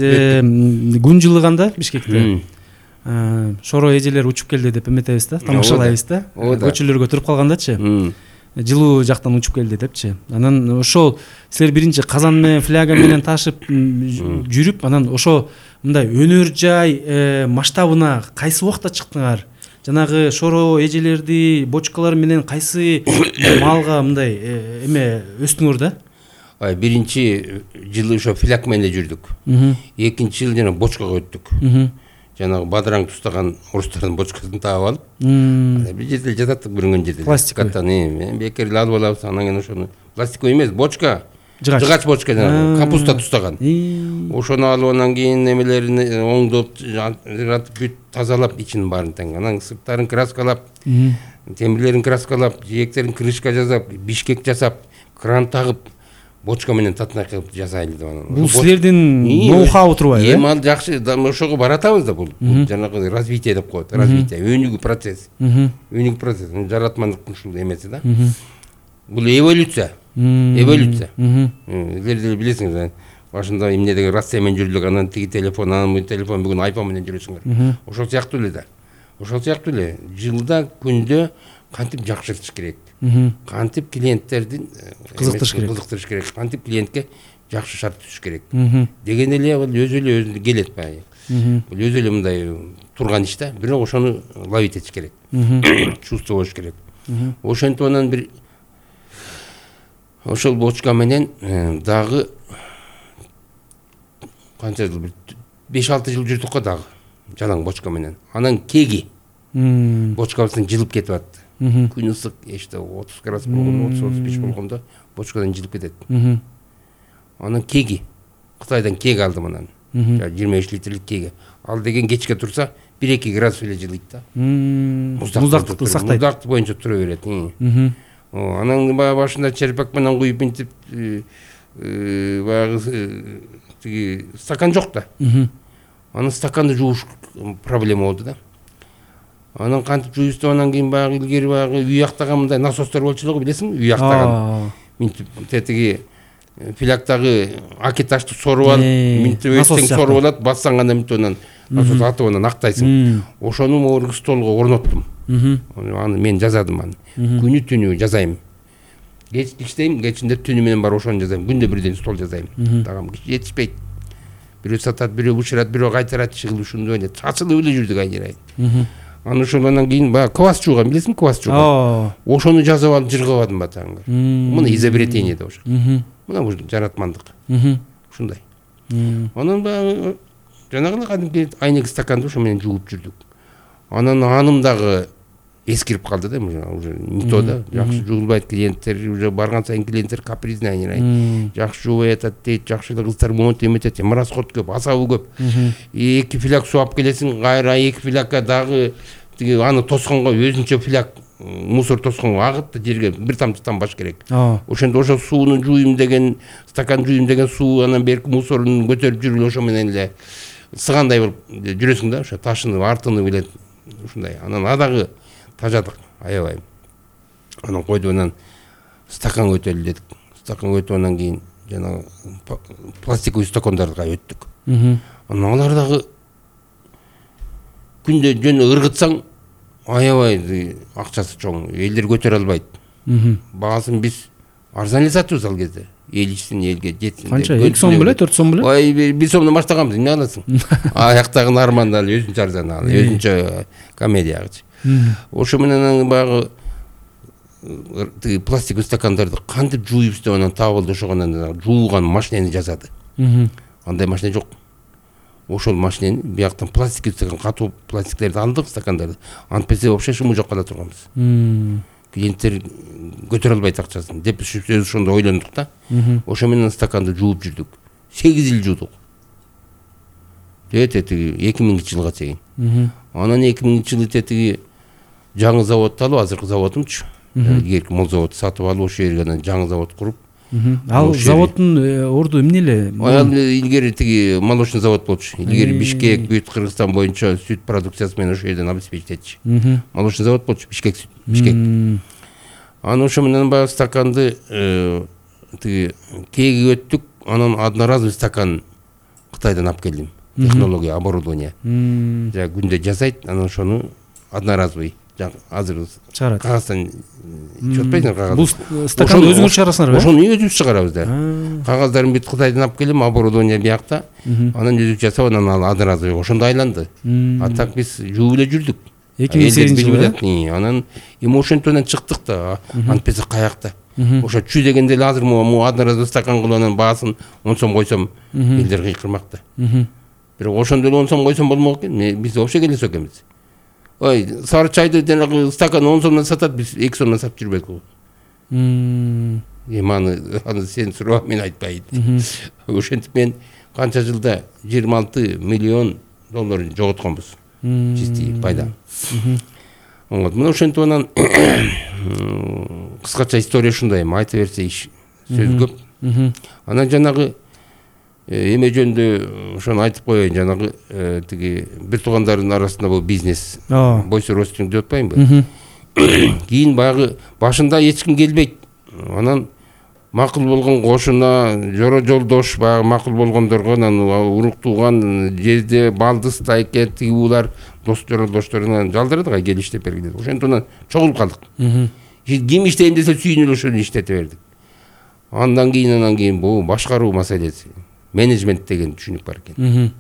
күн жылыганда Бишкекте шоро эжелер учуп келди деп эметебиз да, тамашалайбыз да. Көчөлөргө туруп калгандачы. Жылуу жактан учуп келди депчи. Анан ошол силер биринчи казан менен фляга менен ташып жүрүп, анан ошо мындай өнөр жай масштабына кайсы убакта чыктыңар? Жанагы шоро эжелерди бочкалар менен кайсы малга мындай эме өстүңөр да? Ай, биринчи жылы ошо фляг менен жүрдүк. Экинчи жылы жана бочкага өттүк. Жанагы бадыраң тустаган орустардын бочкасын таап алып, бир жерде жататтык бүрүнгөн жерде. Пластиктан эми бекер эле алып алабыз, анан кийин ошону пластиковый эмес, бочка, жыгач бочка жанагы капуста тустаган. Ошону алып анан кийин эмелерин оңдоп, бүт тазалап ичин баарын тең. Анан сырттарын краскалап, темирлерин краскалап, жээктерин крышка жасап, бишкек жасап, кран тагып, бочка менен татнай кылып жасайлы деп анан. Бул силердин ноу-хау турбайбы? Эми ал жакшы, ошого баратабыз да бул. Жанагы развитие деп коет, развитие, өнүгүү процесс. Өнүгүү процесс, жаратмандыктын ушул эмеси да. Бул эволюция. Эволюция. Силер билесиңер, башында эмне деген Россия менен жүрдүк, анан тиги телефон, анан бул телефон, бүгүн айфон менен жүрөсүңөр. Ошол сыяктуу эле да. Ошол сыяктуу эле жылда күндө кантип жакшыртыш керек. Кантип клиенттердин кызыктырыш керек. Кызыктырыш керек. Кантип клиентке жакшы шарт түзүш керек. Деген эле бул өзү эле өзүнө келет баягы. Бул өзү эле мындай турган иш да. Бирок ошону ловить этиш керек. Чувство болуш керек. Ошентип анан бир ошол бочка менен дагы канча жыл, беш алты жыл жүрдүк го дагы жалаң бочка менен. Анан кеги бочкабыздын жылып кетип атты. Күн ысык, эште отуз градус болгондо, отуз отуз беш болгондо бочкадан жылып кетет. Анан кеги, Кытайдан кеги алдым анан. жыйырма беш литрлик кеги. Ал деген кечке турса бир эки градус эле жылыйт да. Муздактыкты сактайт. Муздакты боюнча тура берет. Анан баягы башында черпак менен куюп мынтип баягы тиги стакан жок да. Анан стаканды жууш проблема болду да. Анан кантип жуйбуз деп анан кийин баягы илгери баягы үй актаган мындай насостор болчу эле го, билесиңби? Үй актаган. Мынтип тетиги филактагы акиташты соруп алып, мынтип өтсөң соруп алат, бассаң гана мынтип анан насос атып анан актайсың. Ошону могу столго орноттум. Аны мен жазадым аны. Күнү түнү жазайм. Кеч иштейм, кечинде түнү менен бар ошону жазайм. Күндө бирден стол жазайм. Тагам жетишпейт. Бирөө сатат, бирөө бушурат, бирөө кайтарат, чыгыл ушундай эле. Чачылып эле жүрдүк айнырай. Аны ошондон кийин баягы квас жууган, билесиңби, квас жууган. Ошону жазып алып жыргабадым батаңга. Мына изобретение да ошо. Мына бул жаратмандык. Ушундай. Анан баягы жанагы кадимки айнек стаканды ошо менен жууп жүрдүк. Анан аным дагы эскирип калды да, уже никто да, жакшы жуулбайт, клиенттер уже барган сайын клиенттер капризный айнырай. Жакшы жуубай атат дейт, жакшы эле кыздар монт эметет, расход көп, асабы көп. Эки фляг суу алып келесиң, кайра эки флягга дагы тиги аны тосконго өзүнчө фляг мусор тосконго агып да жерге бир тамчы тамбаш керек. Ошондо ошо сууну жуйм деген, стакан жуйм деген суу анан берки мусорун көтөрүп жүрүп ошо менен эле сыгандай болуп жүрөсүң да, ошо ташынып, артынып эле ушундай. Анан адагы тажадык, аябай. Анан койдуп анан стаканга өтөлү дедик. Стаканга өтүп анан кийин жана пластиковый стакандарга өттүк. Анан алар дагы күндө жөн ыргытсаң аябай акчасы чоң, элдер көтөрө албайт. Баасын биз арзан эле сатыбыз ал кезде. Эл ичсин, элге жетсин. Канча? эки сом беле, төрт сом беле? Ой, бир сомдон баштаганбыз, эмне аласың? Аяктагы арманды ал өзүнчө арзан ал, өзүнчө комедиягычы. Ошо менен баягы тиги пластиктик стакандарды кантип жууйбуз деп анан табылды, ошогонан жууган машинени жасады. Андай машина жок. Ошол машинени бияктан пластиктик стакан, катуу пластиктерди алдык, стакандарды. Антпесе вообще шуму жок кала турганбыз. Клиенттер көтөрө албайт акчасын деп сөз ошондо ойлондук да. Ошо менен стаканды жууп жүрдүк. сегиз жыл жуудук. Тетиги эки миңинчи жылга чейин. Анан эки миңинчи жылы тетиги жаңы заводду алып, азыркы заводумчу. Илгерки мол заводду сатып алып, ошол жерге анан жаңы завод куруп. Ал заводдун орду эмне эле? Ал илгери тиги молочный завод болчу. Илгери Бишкек, бүт Кыргызстан боюнча сүт продукциясы менен ошол жерден обеспечить этчү. Молочный завод болчу, Бишкек сүт, Бишкек. Анан ошо менен баягы стаканды тиги кээге өттүк, анан одноразовый стакан Кытайдан алып келдим. Технология, оборудование. Жа күндө жасайт, анан ошону одноразовый азыр чыгарат. Кагаздан чөтпөйсүң кагаз. Бул стаканды өзүңүз чыгарасыңарбы? Ошону өзүбүз чыгарабыз да. Кагаздарын бүт Кытайдан алып келем, оборудование биякта. Анан өзүбүз жасап, анан ал одноразовый ошондо айланды. А так биз жууп эле жүрдүк. эки миң сегизинчи жылы. Анан эми ошентип чыктык да. Антпесе каякта. Ошо чүй дегенде эле азыр могу одноразовый стакан кылып анан баасын он сом койсом, элдер кыйкырмакта. Бирок ошондо эле он сом койсом болмок экен. Биз вообще келесиз экенбиз. Ой, сары чайды жанагы стакан он сомдон сатат, биз эки сомдон сатып жүрбөйт го. Эми аны аны сен сурап мен айтпайт. Ошентип мен канча жылда жыйырма алты миллион доллар жоготконбуз. Чистый пайда. Вот, мына ошентип анан кыскача история ушундай, айта берсе иш сөз көп. Анан жанагы эме жөнүндө ошону айтып коеюн, жанагы тиги бир туугандардын арасында бул бизнес бойсу ростинг деп атпаймынбы? Кийин баягы башында эч ким келбейт. Анан макул болгон кошуна, жоро жолдош баягы макул болгондорго, анан урук тууган жерде балдыз тайке тиги булар дос жолдошторунан жалдырды га кел иштеп бергиле. Ошентип анан чогулуп калдык. Ким иштейин десе сүйүнүп ошону иштете бердик. Андан кийин анан кийин бул башкаруу маселеси. Менеджмент деген түшүнүк бар экен.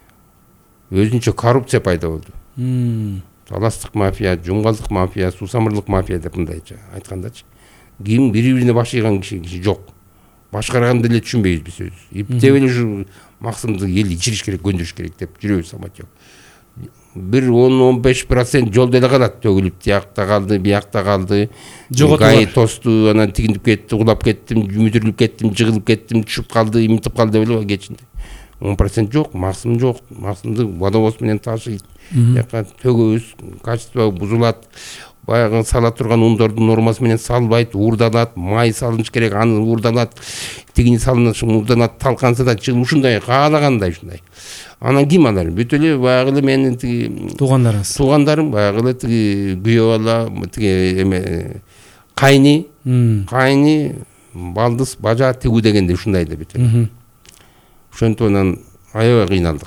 Өзүнчө коррупция пайда болду. Таластык мафия, жумгалдык мафия, суусамырлык мафия деп мындайча айткандачы. Ким бири-бирине баш ийган киши жок. Башкарганды эле түшүнбөйбүз биз өзүбүз. Иптеп эле ушу максымды эл ичириш керек, көндүрүш керек деп жүрөбүз самат жок. Бир он он беш процент жолдо эле калат, төгүлүп тиякта калды, биякта калды. Гай тосту, анан тигинип кетти, улап кеттим, мүдүрүлүп кеттим, жыгылып кеттим, түшүп калды, имитип калды деп эле кечинде. он процент жок, максым жок. Максымды водовоз менен ташыйт. Жака төгөбүз, качество бузулат. Баягы сала турган ундордун нормасы менен салбайт, уурдалат, май салыныш керек, аны уурдалат. Тигини салыныш, уурдалат, талканса да чыгып ушундай, каалагандай ушундай. Анан ким алар? Бүт эле баягы эле менин тиги туугандарыңыз. Туугандарым баягы эле тиги күйөө бала, тиги эме кайны, кайны, балдыз, бажа тигүү дегенде ушундай да бүт эле. Ошентип анан аябай кыйналдык.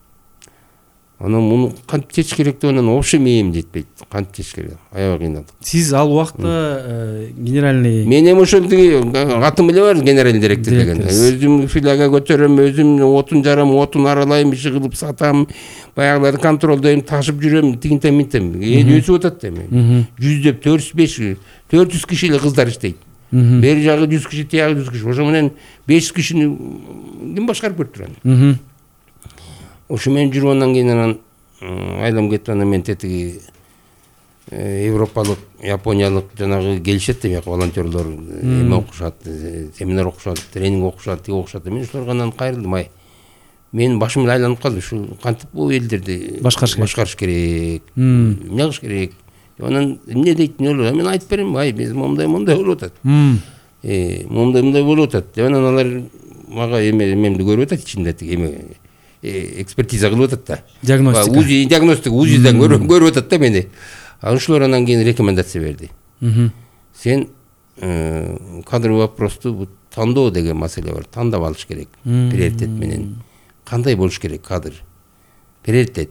Анан муну кантип чечиш керек деп анан вообще мээм жетпейт. Кантип чечиш керек? Аябай кыйналдык. Сиз ал убакта генеральный Мен эми ошол тиги атым эле бар, генеральный директор деген. Өзүм филиалга көтөрөм, өзүм отун жарам, отун аралайм, иши кылып сатам, баягыларды контролдойм, ташып жүрөм, тигинтем минтем. Эл өсүп атат эми. Жүздөп төрт жүз беш, төрт жүз киши эле кыздар иштейт. Бери жагы жүз киши, тиягы жүз киши. Ошо менен беш жүз кишини ким башкарып көрүп турат? Ошо менен жүрүп андан кийин анан айлам кетип анан мен тетиги европалык, япониялык жанагы келишет да, волонтерлор эме окушат, семинар окушат, тренинг окушат, тиги окушат. Мен ошолорго анан кайрылдым, ай. Мен башым эле айланып калды, ушул кантип бул элдерди башкарыш керек, эмне кылыш керек. Анан эмне дейт, эмне болот? Мен айтып берем, ай, биз момундай момундай болуп атат. Э, момундай момундай болуп атат. Деп анан алар мага эме эмемди көрүп атат, ичинде тиги эме экспертиза кылып атат да. Диагностика. УЗИ, диагностика, УЗИден көрүп атат да мени. Ошолор анан кийин рекомендация берди. Сен кадровый вопросту тандоо деген маселе бар. Тандап алыш керек. Приоритет менен. Кандай болуш керек кадр? Приоритет.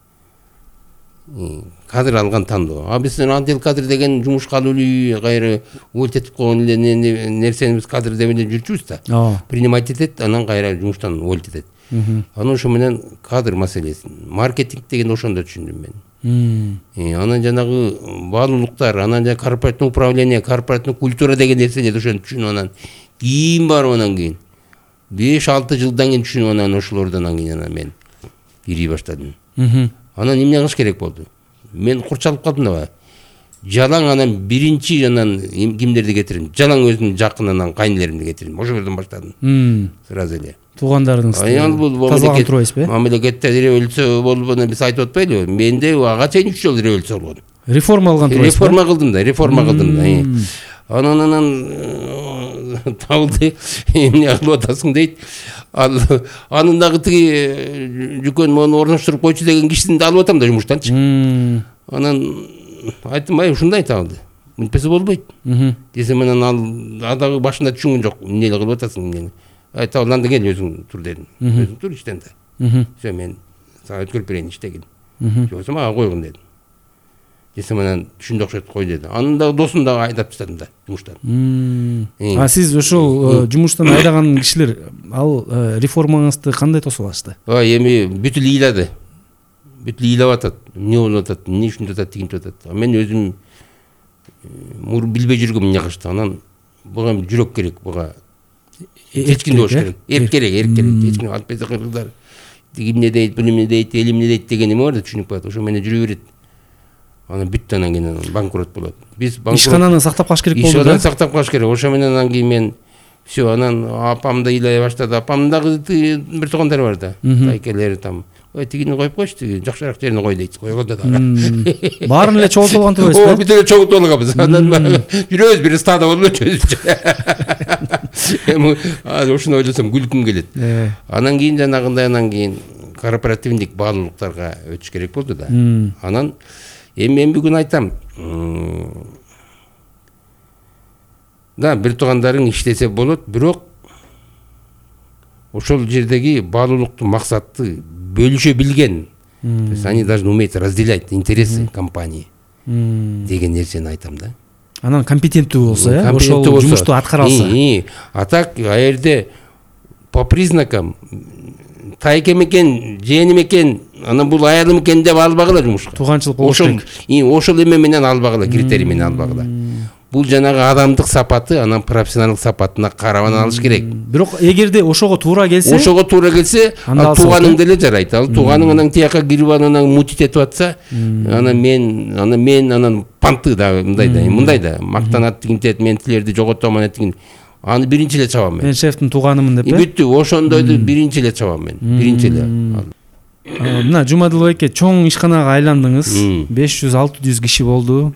Кадр алган тандоо. А биз отдел кадр деген жумушка алуу кайра увольтетип койгон эле нерсени биз кадр деп эле жүрчүбүз да. Принимать этет, анан кайра жумуштан увольт этет. Анан ошо менен кадр маселесин, маркетинг деген ошондо түшүндүм мен. Анан жанагы баалуулуктар, анан жана корпоративный управление, корпоративный культура деген нерселерди ошону түшүнүп, анан кийин барып анан кийин беш алты жылдан кийин түшүнүп, анан ошолордон кийин анан мен ирий баштадым. Анан эмне кылыш керек болду? Мен курчалып калдым да. Жалаң анан биринчи анан кимдерди кетирдим? Жалаң өзүмдүн жакын анан кайнелеримди кетирдим. Ошол жерден баштадым. Сразу эле. Туугандарыңыз тазалаган турбайсызбы? Мамлекетте революция болуп анан биз айтып атпайлыбы? Менде ага чейин үч жолу революция болгон. Реформа кылган турбайсызбы? Реформа кылдым да, реформа кылдым да. Анан анан табылды, эмне кылып атасың дейт. Ал анын дагы тиги жүкөн мону орноштуруп койчу деген кишисин да алып атам да жумуштанчы. Анан айттым, ай ушундай табылды. Мынтпесе болбойт. Десем анан ал дагы башында түшүнгөн жок. Эмне кылып атасың эмне? Ай табылды, анда кел өзүң тур дедим. Өзүң тур иштен да. Все, мен сага өткөрүп берейин иштегин. Жоксо мага койгун дедим. Десем анан түшүндү окшойт, кой деди. Анын дагы досун дагы айдап таштадым да жумуштан. А сиз ошол жумуштан айдаган кишилер ал реформаңызды кандай тосуп алышты? Ой, эми бүтүл ыйлады. Бүтүл ыйлап атат. Эмне болуп атат, эмне ушинтип атат, тигинтип атат. Мен өзүм мур билбей жүргөм эмне кылышты. Анан буга жүрөк керек, буга эч кимде болуш керек. Эрк керек, эрк керек. Эч ким алып берсе кыргыздар тиги эмне дейт, бул эмне дейт, эл эмне дейт деген эме бар да, түшүнүп калат. Ошо менен жүрө берет. Анан бүттү, анан кийин банкрот болот. Биз банкрот. Ишкананы сактап калыш керек болду да. Ишкананы сактап калыш керек. Ошо менен анан кийин мен все, анан апамды ыйлай баштады. Апамдын дагы бир туугандары бар да. Тайкелери там. Ой, тигини коюп койчу, тиги жакшыраак жерине кой дейт. Койгондо дагы. Баарын эле чогултуп алган турбайсызбы? О, бүт эле чогултуп алганбыз. Анан жүрөбүз, бир стадо болуп өтөбүз. Эми ушуну ойлосом күлкүм келет. Анан кийин жанагындай, анан кийин корпоративдик баалуулуктарга өтүш керек болду да. Анан эми мен бүгүн айтам. Да, бир туугандарың иштесе болот, бирок ошол жердеги баалуулуктун максатты бөлүшө билген. То есть они должны уметь разделять интересы компании деген нерсени айтам да. Анан компетенттүү болсо, э, ошол жумушту аткара алса. А так, а жерде по признакам тайкем экен, жээним экен, анан бул аялым экен деп албагыла жумушка. Тууганчылык болуш керек. Ошол эме менен албагыла, критерий менен албагыла. Бул жанагы адамдык сапаты, анан профессионалдык сапатына карап алыш керек. Бирок эгерде ошого туура келсе, ошого туура келсе, ал тууганың деле жарайт. Ал тууганың анан тияка кирип анан мутит этип атса, анан мен, анан мен анан панты да мындай да, мындай да мактанат тигинтет, мен тилерди жоготом анан тигин. Аны биринчи эле чабам мен. Мен шефтин тууганымын деп, э? Бүттү, ошондойду биринчи эле чабам мен. Биринчи эле. Мына Жумадыл байке чоң ишканага айландыңыз. беш жүз алты жүз киши болду.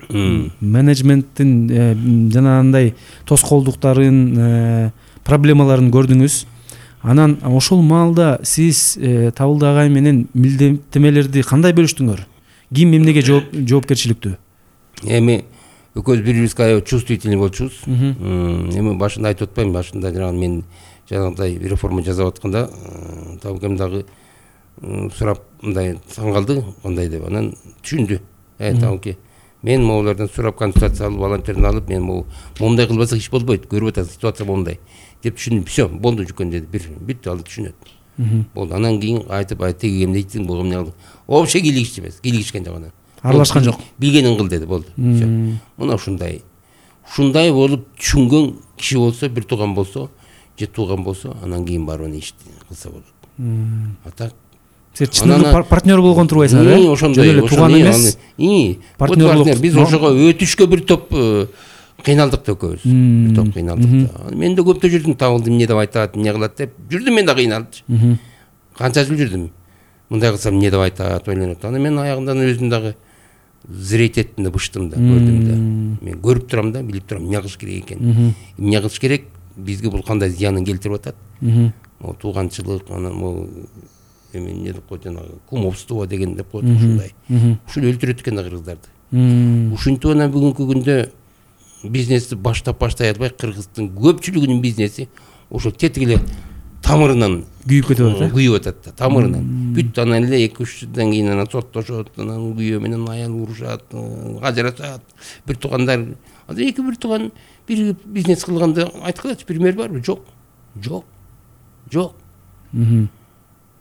Менеджменттин жанагындай тоскоолдуктарын, проблемаларын көрдүңүз. Анан ошол маалда сиз Табылды агай менен милдеттемелерди кандай бөлүштүңөр? Ким эмнеге жоопкерчиликтүү? Эми экөөбүз бири-бирибизге чувствительный болчубуз. Эми башында айтып атпайм, башында жанагы мен жанагындай реформа жасап атканда Табылгам дагы сурап мындай таң калды, кандай деп. Анан түшүндү. Э, Табылке, мен могулардан сурап консультация алып, волонтерден алып, мен могу момундай кылбасак иш болбойт, көрүп атасыз, ситуация момундай деп түшүндүм. Все, болду жүкөн деди. Бир бүттү, ал түшүнөт. Болду. Анан кийин айтып, ай тиги эмне дейтиң, бул эмне кылды? Вообще кийлигишчи эмес, кийлигишкен жок анан. Аралашкан жок. Билгенин кыл деди, болду. Все. Мына ушундай. Ушундай болуп түшүнгөн киши болсо, бир тууган болсо, же тууган болсо, анан кийин барып аны ишти кылса болот. А так сиз чындыгы партнер болгон турбайсыңар, э? Ошондой эле тууган эмес. И партнерлук. Биз ошого өтүшкө бир топ кыйналдык да экөөбүз. Бир топ кыйналдык. Мен да көптө жүрдүм, Табылды эмне деп айтат, эмне кылат деп. Жүрдүм мен да кыйналып. Канча жыл жүрдүм. Мындай кылсам эмне деп айтат, ойлонот. Анан мен аягында өзүм дагы зрейт эттим да, быштым да, көрдүм да. Мен көрүп турам да, билип турам эмне кылыш керек экен. Эмне кылыш керек, бизге бул кандай зыянын келтирип атат. Могу тууганчылык, анан могу эми эмне деп коет, жанагы кумовство деген деп коет, ушундай. Ушул өлтүрөт экен да кыргыздарды. Ушинтип анан бүгүнкү күндө бизнести баштап баштай албай, кыргыздын көпчүлүгүнүн бизнеси ошол тетик эле тамырынан күйүп кетип атат, э? Күйүп атат да, тамырынан. Бүт анан эле эки үч жылдан кийин анан соттошот, анан күйөө менен аял урушат, ажырашат. Бир туугандар, азыр эки бир тууган бир бизнес кылганда айткылачы, пример барбы? Жок. Жок. Жок.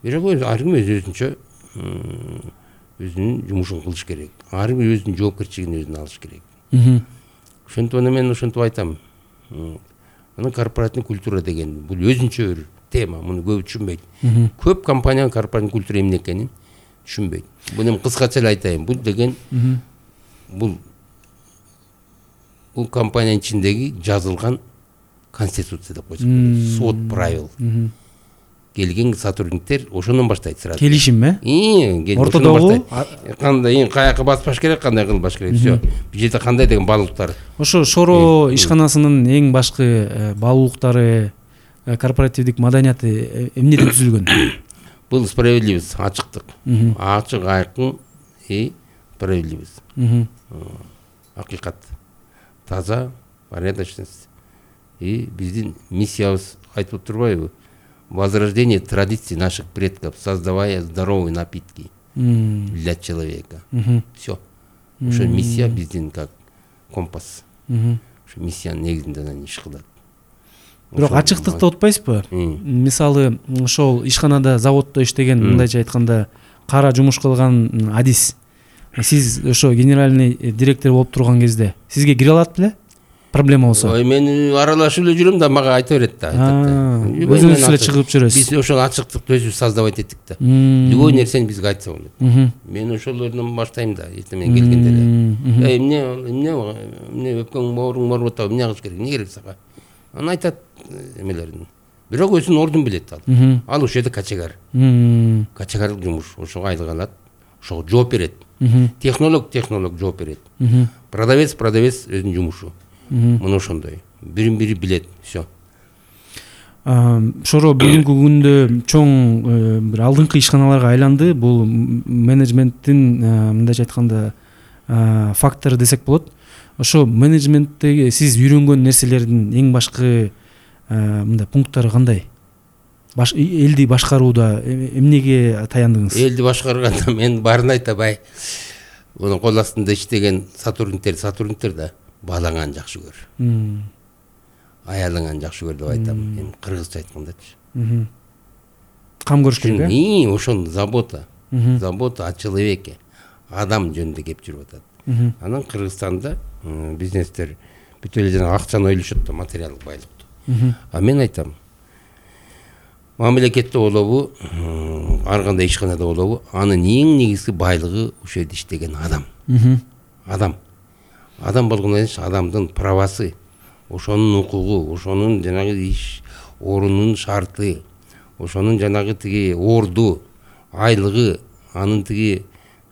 бирок ар ким өз өзүнчө өзүнүн жумушун кылыш керек, ар ким өзүнүн жоопкерчилигин өзүнө алыш керек. Ошентип ана мен ошентип айтам. Анан корпоративный культура деген бул өзүнчө бир тема, муну көп түшүнбөйт. Көп компания корпоративный культура эмне экенин түшүнбөйт. Буну кыскача эле айтайын. Бул деген бул бул компаниянын ичиндеги жазылган конституция деп койсок болот. Свод правил. Келген сотрудниктер ошондон баштайт сразу. Келишим, э? Ортодогу кандай, каяка баспаш керек, кандай кылбаш керек. Всё. Бул жерде кандай деген баалуулуктар. Ошо Шоро ишканасынын эң башкы баалуулуктары, корпоративдик маданияты эмнеден түзүлгөн? Бул справедливость, ачыктык. Ачык, айкын и справедливость. Акыйкат. Таза, порядочность. И биздин миссиябыз айтып турбайбы? Возрождение традиций наших предков, создавая здоровые напитки для человека. Все. Ошо миссия биздин как компас. Ошо миссиянын негизинде анан иш кылат. Бирок ачыктыкты утпайсызбы? Мисалы, ошол ишканада, заводдо иштеген, мындайча айтканда, кара жумуш кылган адис. Сиз ошо генеральный директор болуп турган кезде сизге кире алат беле? Проблема болсо. Ой, мен аралашып эле жүрөм да, мага айта берет да. Өзүңүз эле чыгып жүрөсүз. Биз ошол ачыктыкты өзүбүз создавать эттик да. Любой нерсени бизге айтса болот. Мен ошолордон баштайм да, эртең келгенде эле. Эй, эмне, эмне, эмне өпкөң мооруң ооруп атабы, эмне кылыш керек, эмне керек сага? Анан айтат эмелерин. Бирок өзүнүн ордун билет ал. Ал ошол жерде качегар. Качегарлык жумуш, ошого айлык алат, ошого жооп берет. Технолог, технолог жооп берет. Продавец, продавец өзүнүн жумушу. Мына ошондой. Бирин бири билет, всё. Шоро бүгүнкү күндө чоң бир алдыңкы ишканаларга айланды. Бул менеджменттин, мындайча айтканда, фактору десек болот. Ошо менеджменттеги сиз үйрөнгөн нерселердин эң башкы мындай пункттары кандай? Баш элди башкарууда эмнеге таяндыңыз? Элди башкарганда мен баарын айтабай. Муну кол астында иштеген сотрудниктер, сотрудниктер да баалаңан жакшы көр. Аялыңан жакшы көр деп айтам. Эми кыргызча айткандачы. Кам көрүш керек, э? Ошон забота. Забота о человеке. Адам жөнүндө кеп жүрүп атат. Анан Кыргызстанда бизнестер бүт эле жана акчаны ойлошот да, материалдык байлыкты. А мен айтам, мамлекетте болобу, ар кандай ишканада болобу, анын эң негизги байлыгы ошол жерде иштеген адам. Адам. Адам болгондон кийин адамдын правасы, ошонун укугу, ошонун жанагы иш орунунун шарты, ошонун жанагы тиги орду, айлыгы, анын тиги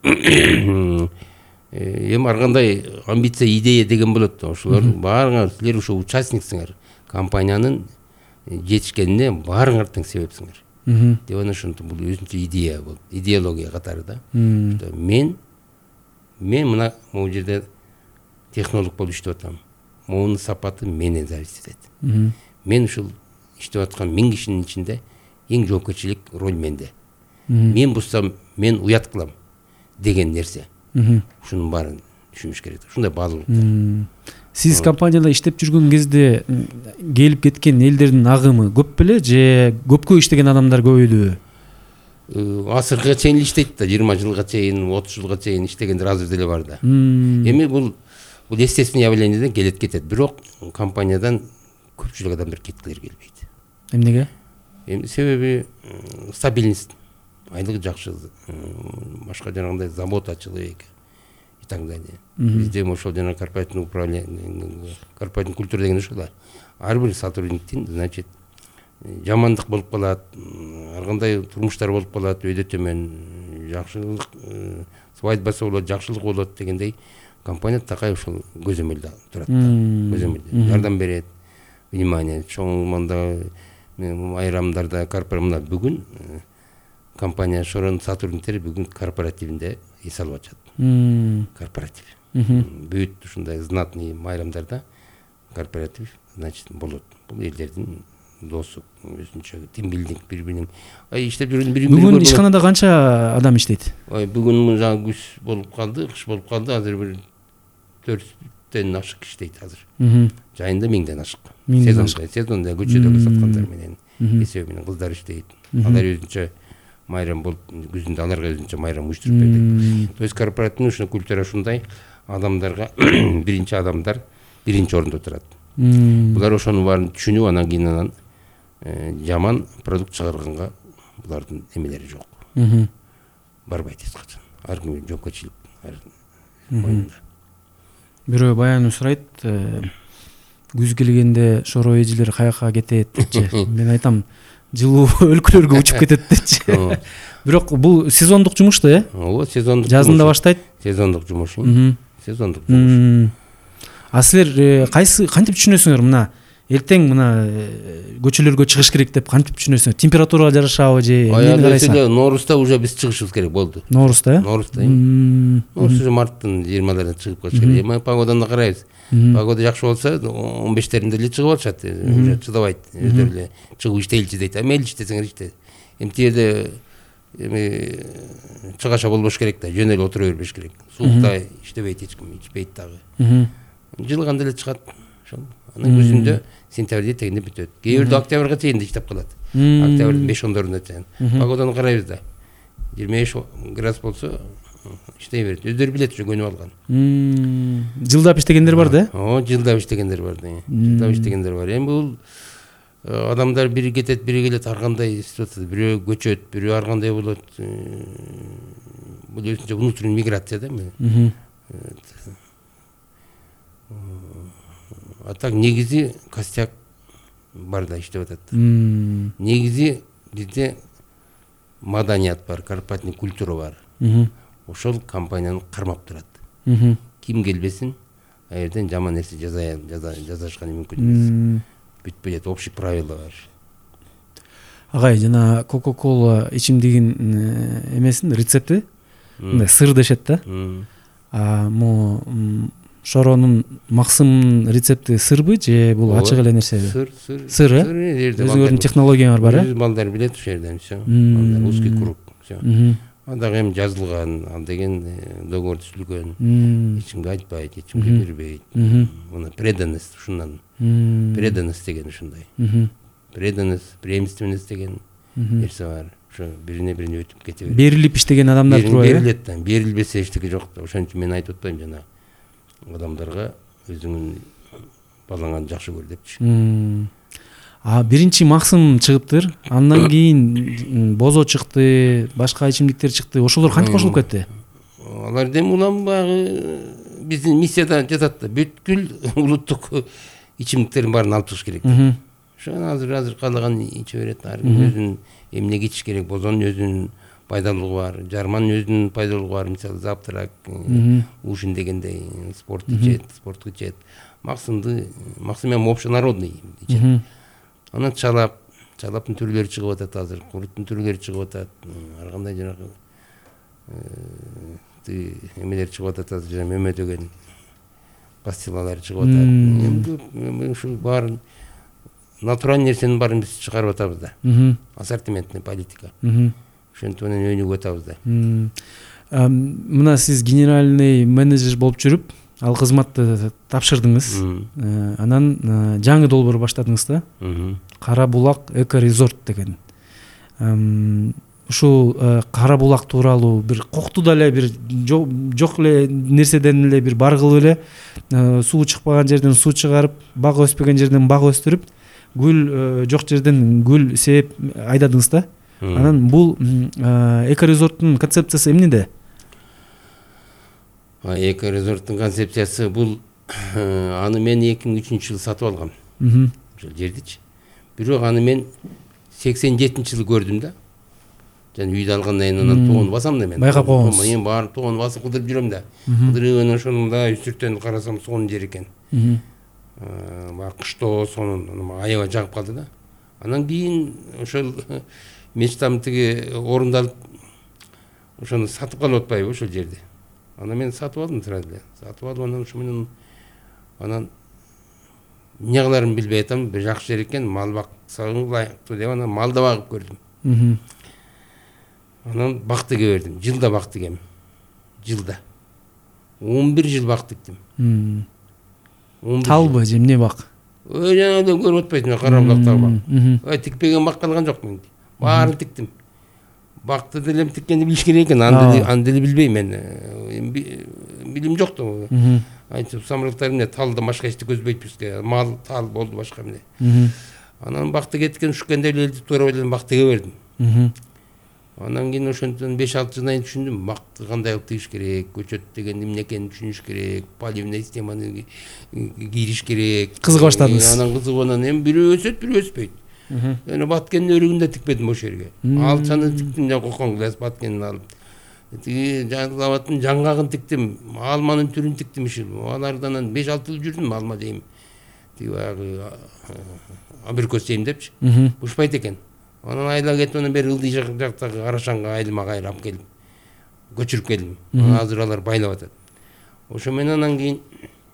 эми ар кандай амбиция, идея деген болот да. Ошолор баарыңар силер ошо участниксиңер. Компаниянын жетишкенине баарыңар тең себепсиңер. Деп анан ошентип бул өзүнчө идея болот, идеология катары да. Мен мен мына могу жерде технолог болуп иштеп атам. Моунун сапаты менен зависит этет. Мен ушул иштеп аткан миң кишинин ичинде эң жоопкерчилик роль менде. Мен буссам мен уят кылам деген нерсе. Ушунун баарын түшүнүш керек. Ушундай баалуулуктар. Сиз компанияда иштеп жүргөн кезде келип кеткен элдердин агымы көп беле же көпкө иштеген адамдар көбөйдүбү? Асырга чейин иштейт да, жыйырма жылга чейин, отуз жылга чейин иштегендер азыр деле бар да. Эми бул бул естественный явлениеден келет кетет. Бирок компаниядан көпчүлүк адамдар кеткилер келбейт. Эмнеге? Эми себеби стабильность, айлык жакшы, башка жанагындай забота о человеке и так далее. Бизде ошол жана корпоративный управление, корпоративный культура деген ошол да. Ар бир сотрудниктин, значит, жамандык болуп калат, ар кандай турмуштар болуп калат, өйдө төмөн, жакшылык, свадьбасы болот, жакшылык болот дегендей компания такай ошол көзөмөлдө турат да. Көзөмөлдө жардам берет, внимание, чоң мында айрамдарда корпоративда бүгүн компания Шоронун сотрудниктери бүгүн корпоративинде эс алып атышат. Корпоратив. Бүт ушундай знатный майрамдарда корпоратив, значит, болот. Бул элдердин досу, өзүнчө тимбилдинг, бири-биринин ай иштеп жүргөн бири-бири. Бүгүн ишканада канча адам иштейт? Ой, бүгүн жаңы күз болуп калды, кыш болуп калды, азыр бир төрттөн ашык иштейт азыр. Жайында миңден ашык. Сезонда, сезонда көчөдө саткандар менен, эсеби менен кыздар иштейт. Алар өзүнчө майрам болуп күзүндө аларга өзүнчө майрам уюштуруп бердик. То есть корпоративный ушул культура ушундай, адамдарга биринчи адамдар биринчи орунда турат. Булар ошонун баарын түшүнүп, анан кийин анан жаман продукт чыгарганга булардын эмелери жок. Барбайт эч качан. Ар ким жоопкерчилик ар моюнда. Бирөө баян сурайт, күз келгенде шоро эжелер каяка кетет депчи. Мен айтам, жылуу өлкөлөргө учуп кетет депчи. Бирок бул сезондук жумуш да, э? Ооба, сезондук. Жазында баштайт. Сезондук жумуш. Сезондук жумуш. А силер кайсы кантип түшүнөсүңөр мына эртең мына көчөлөргө чыгыш керек деп кантип түшүнөсүңөр? Температурага жарашабы же эмнени карайсың? Ноорузда уже биз чыгышыбыз керек болду. Ноорузда, э? Ноорузда. Норуз уже марттын жыйырмаларында чыгып калыш керек. Эми погоданы карайбыз. Погода жакшы болсо он бештеринде эле чыгып алышат. Уже чыдабайт. Өздөрү эле чыгып иштейличи дейт. А мейли иштесеңер иште. Эми тиерде эми чыгаша болбош керек да, жөн эле отура бербеш керек. Суукта иштебейт эч ким, ичпейт дагы. Жылганда эле чыгат. Ошол. Анан күзүндө сентябрде тегинде бүтөт. Кээ бирде октябрга чейин да иштеп калат. Октябрдын беш ондорунда чейин. Погоданы карайбыз да. жыйырма беш градус болсо иштей берет. Өздөрү билет ушу көнүп алган. Жылдап иштегендер бар да? О, жылдап иштегендер бар да. Жылдап иштегендер бар. Эми бул адамдар бири кетет, бири келет, ар кандай ситуация, бирөө көчөт, бирөө ар кандай болот. Бул өзүнчө внутренний миграция да эми. А так негизи костяк бар да, иштеп атат. Негизи бизде маданият бар, корпоративный культура бар. Ошол компанияны кармап турат. Ким келбесин, а жерден жаман нерсе жазашканы мүмкүн эмес. Бүтпөйт, общий правила бар. Агай, жана Coca-Cola ичимдигин эмесин рецепти, мындай сыр дешет да. А мо шоронун максымынын рецепти сырбы же бул ачык эле нерсеби? Сыр, сыр. Сыр, э? Өзүңөрдүн технологияңар бар, э? Балдар билет ошол жерден всё. Балдар узкий круг, всё. А дагы эми жазылган, ал деген договор түзүлгөн. Эч кимге айтпайт, эч кимге бербейт. Мына преданность ушундан. Преданность деген ушундай. Преданность, преемственность деген нерсе бар. Ошо бирине бирине өтүп кете берет. Берилип иштеген адамдар турбайбы? Берилет да. Берилбесе эчтеке жок да. Ошон үчүн мен айтып атпайм жана адамдарга өзүңүн балаңан жакшы көр депчи. А биринчи максым чыгыптыр, андан кийин бозо чыкты, башка ичимдиктер чыкты. Ошолор кантип кошулуп кетти? Алар дем улам багы биздин миссияда жатат да. Бүткүл улуттук ичимдиктердин баарын алып чыгыш керек. Ошон азыр азыр каалаган иче берет. Ар ким өзүнүн эмнеге ичиш керек, бозонун өзүнүн пайдалуулугу бар, жарманын өзүнүн пайдалуулугу бар. Мисалы завтрак, ужин дегендей, спорт ичет, спортку ичет. Максымды, максым эми общенародный ичет. Анан чалап, чалаптын түрлөрү чыгып атат азыр, куруттун түрлөрү чыгып атат. Ар кандай жанагы эмелер чыгып атат азыр, жана мөмө деген пастилалар чыгып атат. Эми ушул баарын натуральный нерсенин баарын биз чыгарып атабыз да. Ассортиментный политика. Ошентип менен өнүгүп атабыз да. Мына сиз генеральный менеджер болуп жүрүп, ал кызматты тапшырдыңыз. Анан жаңы долбоор баштадыңыз да. Кара булак эко резорт деген. Ушул Кара булак тууралуу бир коктуда эле бир жок эле нерседен эле бир баргылып эле суу чыкпаган жерден суу чыгарып, бак өспөгөн жерден бак өстүрүп, гүл жок жерден гүл сээп айдадыңыз да. Анан бул эко резорттун концепциясы эмнеде? Эко резорттун концепциясы бул, аны мен эки миң үчүнчү жылы сатып алгам. Ошол жердичи. Бирок аны мен сексен жетинчи жылы көрдүм да. Жана үйдө алгандан кийин анан тоон басам да мен. Байкап койгонсуз. Мен барып тоон басып кыдырып жүрөм да. Кыдырып анан ошону мындай үстүртөн карасам сонун жер экен. Баягы кыштоо сонун аябай жагып калды да. Анан кийин ошол мечтам тиги орундалып, ошону сатып калып атпайбы ошол жерди. Анан мен сатып алдым сразу эле. Сатып алып анан ушу менен анан эмне кыларымды билбей атам, бир жакшы жер экен, мал баксаң ылайыктуу деп анан мал да багып көрдүм. Анан бак тиге бердим. Жылда бак тигем. Жылда. он бир жыл бак тиктим. Талбы же эмне бак? Ой, жана да көрүп атпайсың, кара булактагы бак. Ой, тикпеген бак калган жок менде. Баарын тиктим. бакты деле тиккенди билиш керек экен, аны аны деле билбейм мен. Билим жок да. Айтып самырыктар эмне талды башка эчти көзбөйт бизге. Мал, тал болду башка эмне. Анан бакты кеткен ушкенде эле туура эле бактыга бердим. Анан кийин ошентен беш алты жылдан кийин түшүндүм, бакты кандай кылып тигиш керек, көчөт деген эмне экенин түшүнүш керек, поливный системаны кириш керек. Кызыга баштадыңыз. Анан кызыгып анан эми бирөө өсөт, бирөө өспөйт. Эне Баткендин өрүгүндө тикпедим ошол жерге. Алчаны тиктим, жана кокон глаз Баткендин алып. Тиги Жалал-Абадтын жаңгагын тиктим, алманын түрүн тиктим ушул. Алардан беш алты жыл жүрдүм алма дейм. Тиги баягы абрикос дейм депчи. Ушпайт экен. Анан айла кетип анан бери ылдый жактагы Арашанга айылма кайра алып келип көчүрүп келдим. Азыр алар байлап атат. Ошо менен анан кийин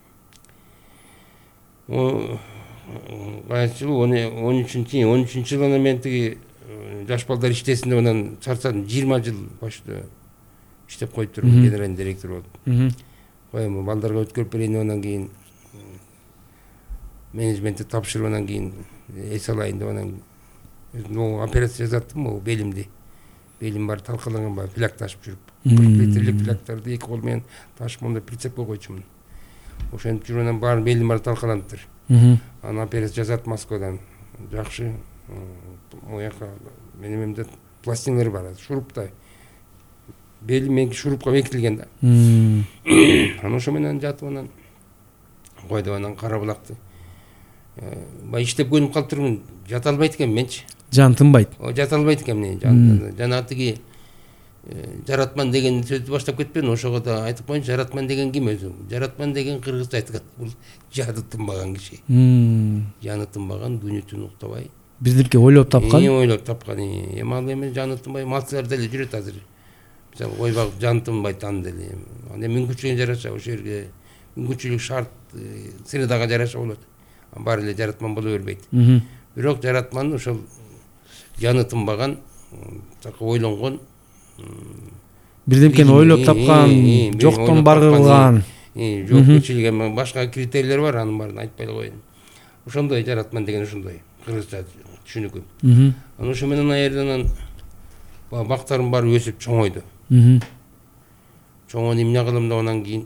кайсы жыл он үчүнчү он үчүнчү жылы мен тиги жаш балдар иштесин деп анан чарчадым. жыйырма жыл башта иштеп коюп турдум, генеральный директор болуп. Коем балдарга өткөрүп берейин деп анан кийин менеджментти тапшырып анан кийин эс алайын деп анан ну операция жасаттым, о белимди. Белим бар талкаланган бар, фляк ташып жүрүп. кырк литрлик фляктарды эки кол менен ташып монда прицепке койчумун. Ошентип жүрүп анан баары белим бар талкаланыптыр. Анан операция жасат Москвадан. Жакшы. Мояка менин эмемде пластиналар бар, шуруптай. Белим меники шурупка бекитилген да. Анан ошо менен жатып анан койдуп анан кара булакты. Бай иштеп көнүп калып турмун, жата албайт экен менчи. Жан тынбайт. О, жата албайт экен мен. Жана тиги жаратман деген сөздү баштап кетпедим, ошого да айтып коеюн, жаратман деген ким өзү? Жаратман деген кыргызча айткан, бул жаны тынбаган киши. Жаны тынбаган, күнү түн уктабай. Бирдирке ойлоп тапкан. Эми ойлоп тапкан. Эми ал эми жаны тынбай малчылар деле жүрөт азыр. Мисалы ой багып жаны тынбайт аны деле. Анда мүмкүнчүлүгүнө жараша ошол жерге мүмкүнчүлүк шарт средага жараша болот. Баары эле жаратман боло бербейт. Бирок жаратман ошол жаны тынбаган, такы ойлонгон, бирдемкени ойлоп тапкан, жоктон бар кылган. Жоопкерчилиги башка критерийлер бар, анын баарын айтпай эле коеюн. Ошондой жаратман деген ошондой кыргызча түшүнүкү. Анан ошо менен аерден бактарым баары өсүп чоңойду. Чоңойду эмне кылым деп анан кийин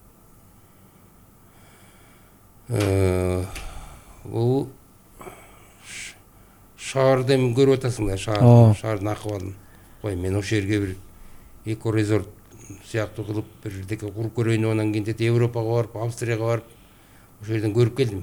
бул шаарды эми көрүп атасыңдар, шаар, шаардын акыбалын. Кой, мен ошол жерге бир эко резорт сыяктуу кылып бирдеке куруп көрөйүн деп анан кийин Европага барып, Австрияга барып, ошол жерден көрүп келдим.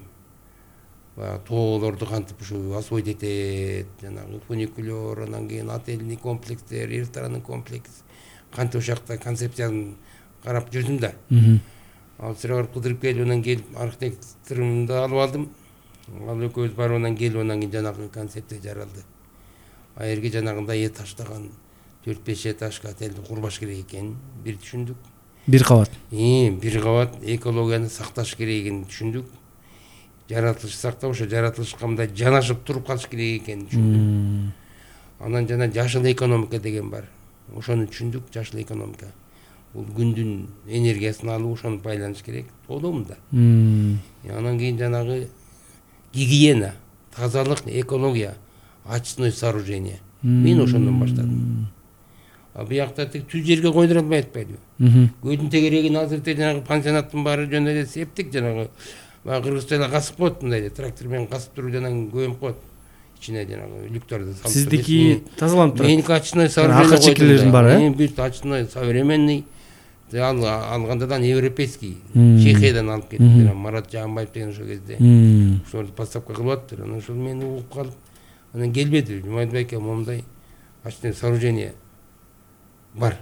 Баягы тоолорду кантип ушу освоить этет, жанагы фуникулер, анан кийин отельный комплекстер, ресторанный комплекс, кантип ошол жакта концепциясын карап жүрдүм да. Австрияга барып кыдырып келип, анан келип архитекторумду алып алдым. Ал экөөбүз барып анан келип анан кийин жанагы концепция жаралды. Аерге жанагындай этаждаган төрт беш этажга отельди курбаш керек экенин бир түшүндүк. Бир кабат. Э, бир кабат экологияны сакташ керек экенин түшүндүк. Жаратылыш сактап, ошо жаратылышка мындай жанашып туруп калыш керек экенин түшүндүк. Анан жана жашыл экономика деген бар. Ошону түшүндүк, жашыл экономика. Бул күндүн энергиясын алып ошону байланыш керек. Толомунда. Анан кийин жанагы гигиена, тазалык, экология, очистное сооружение. Мен ошондон баштадым. А буякта тик түз жерге койдура албай атпайбы? Көйдүн тегерегин азыртып жанагы пансионаттын баары жөн эле септик, жанагы баягы кыргызча эле касып коет, мындай эле трактор менен касып туруп жанагы көмүп коет. Ичине жанагы люктарды салып. Сиздики тазаланып турат. Меники очистное сооружение. Акы чекелерин бар, э? Бүт очистное, современный. Ал алгандадан европейский, Чехиядан алып кетти. Марат Жаанбаев деген ошол кезде. Ошолду поставка кылып аттыр. Анан ошол мени угуп калып, анан келбеди. Жумайдбек аке момундай очистное сооружение бар.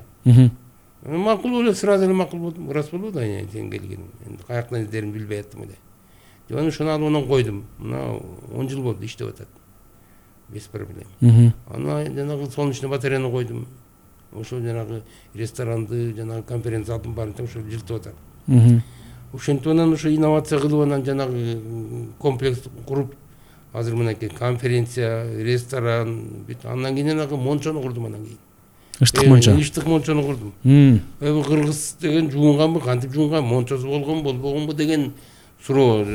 Макул эле, сразу эле макул болдум. Рас болду да, сен келгениң. Энди каяктан издеримди билбей аттым эле. Деп анан ошону алып анан койдум. Мына он жыл болду иштеп атат. Без проблем. Анан жанагы солнечный батареяны койдум. Ошол жанагы ресторанды, жанагы конференция залдын баарын ошо жылтып атат. Ошентип анан ошо инновация кылып анан жанагы комплекс куруп, азыр мынакей конференция, ресторан, бүт андан кийин жанагы мончону курдум анан кийин. Ыштык мончо. Ыштык мончону курдум. Эми кыргыз деген жуунганбы, кантип жуунган, мончосу болгонбу, болбогонбу деген суроо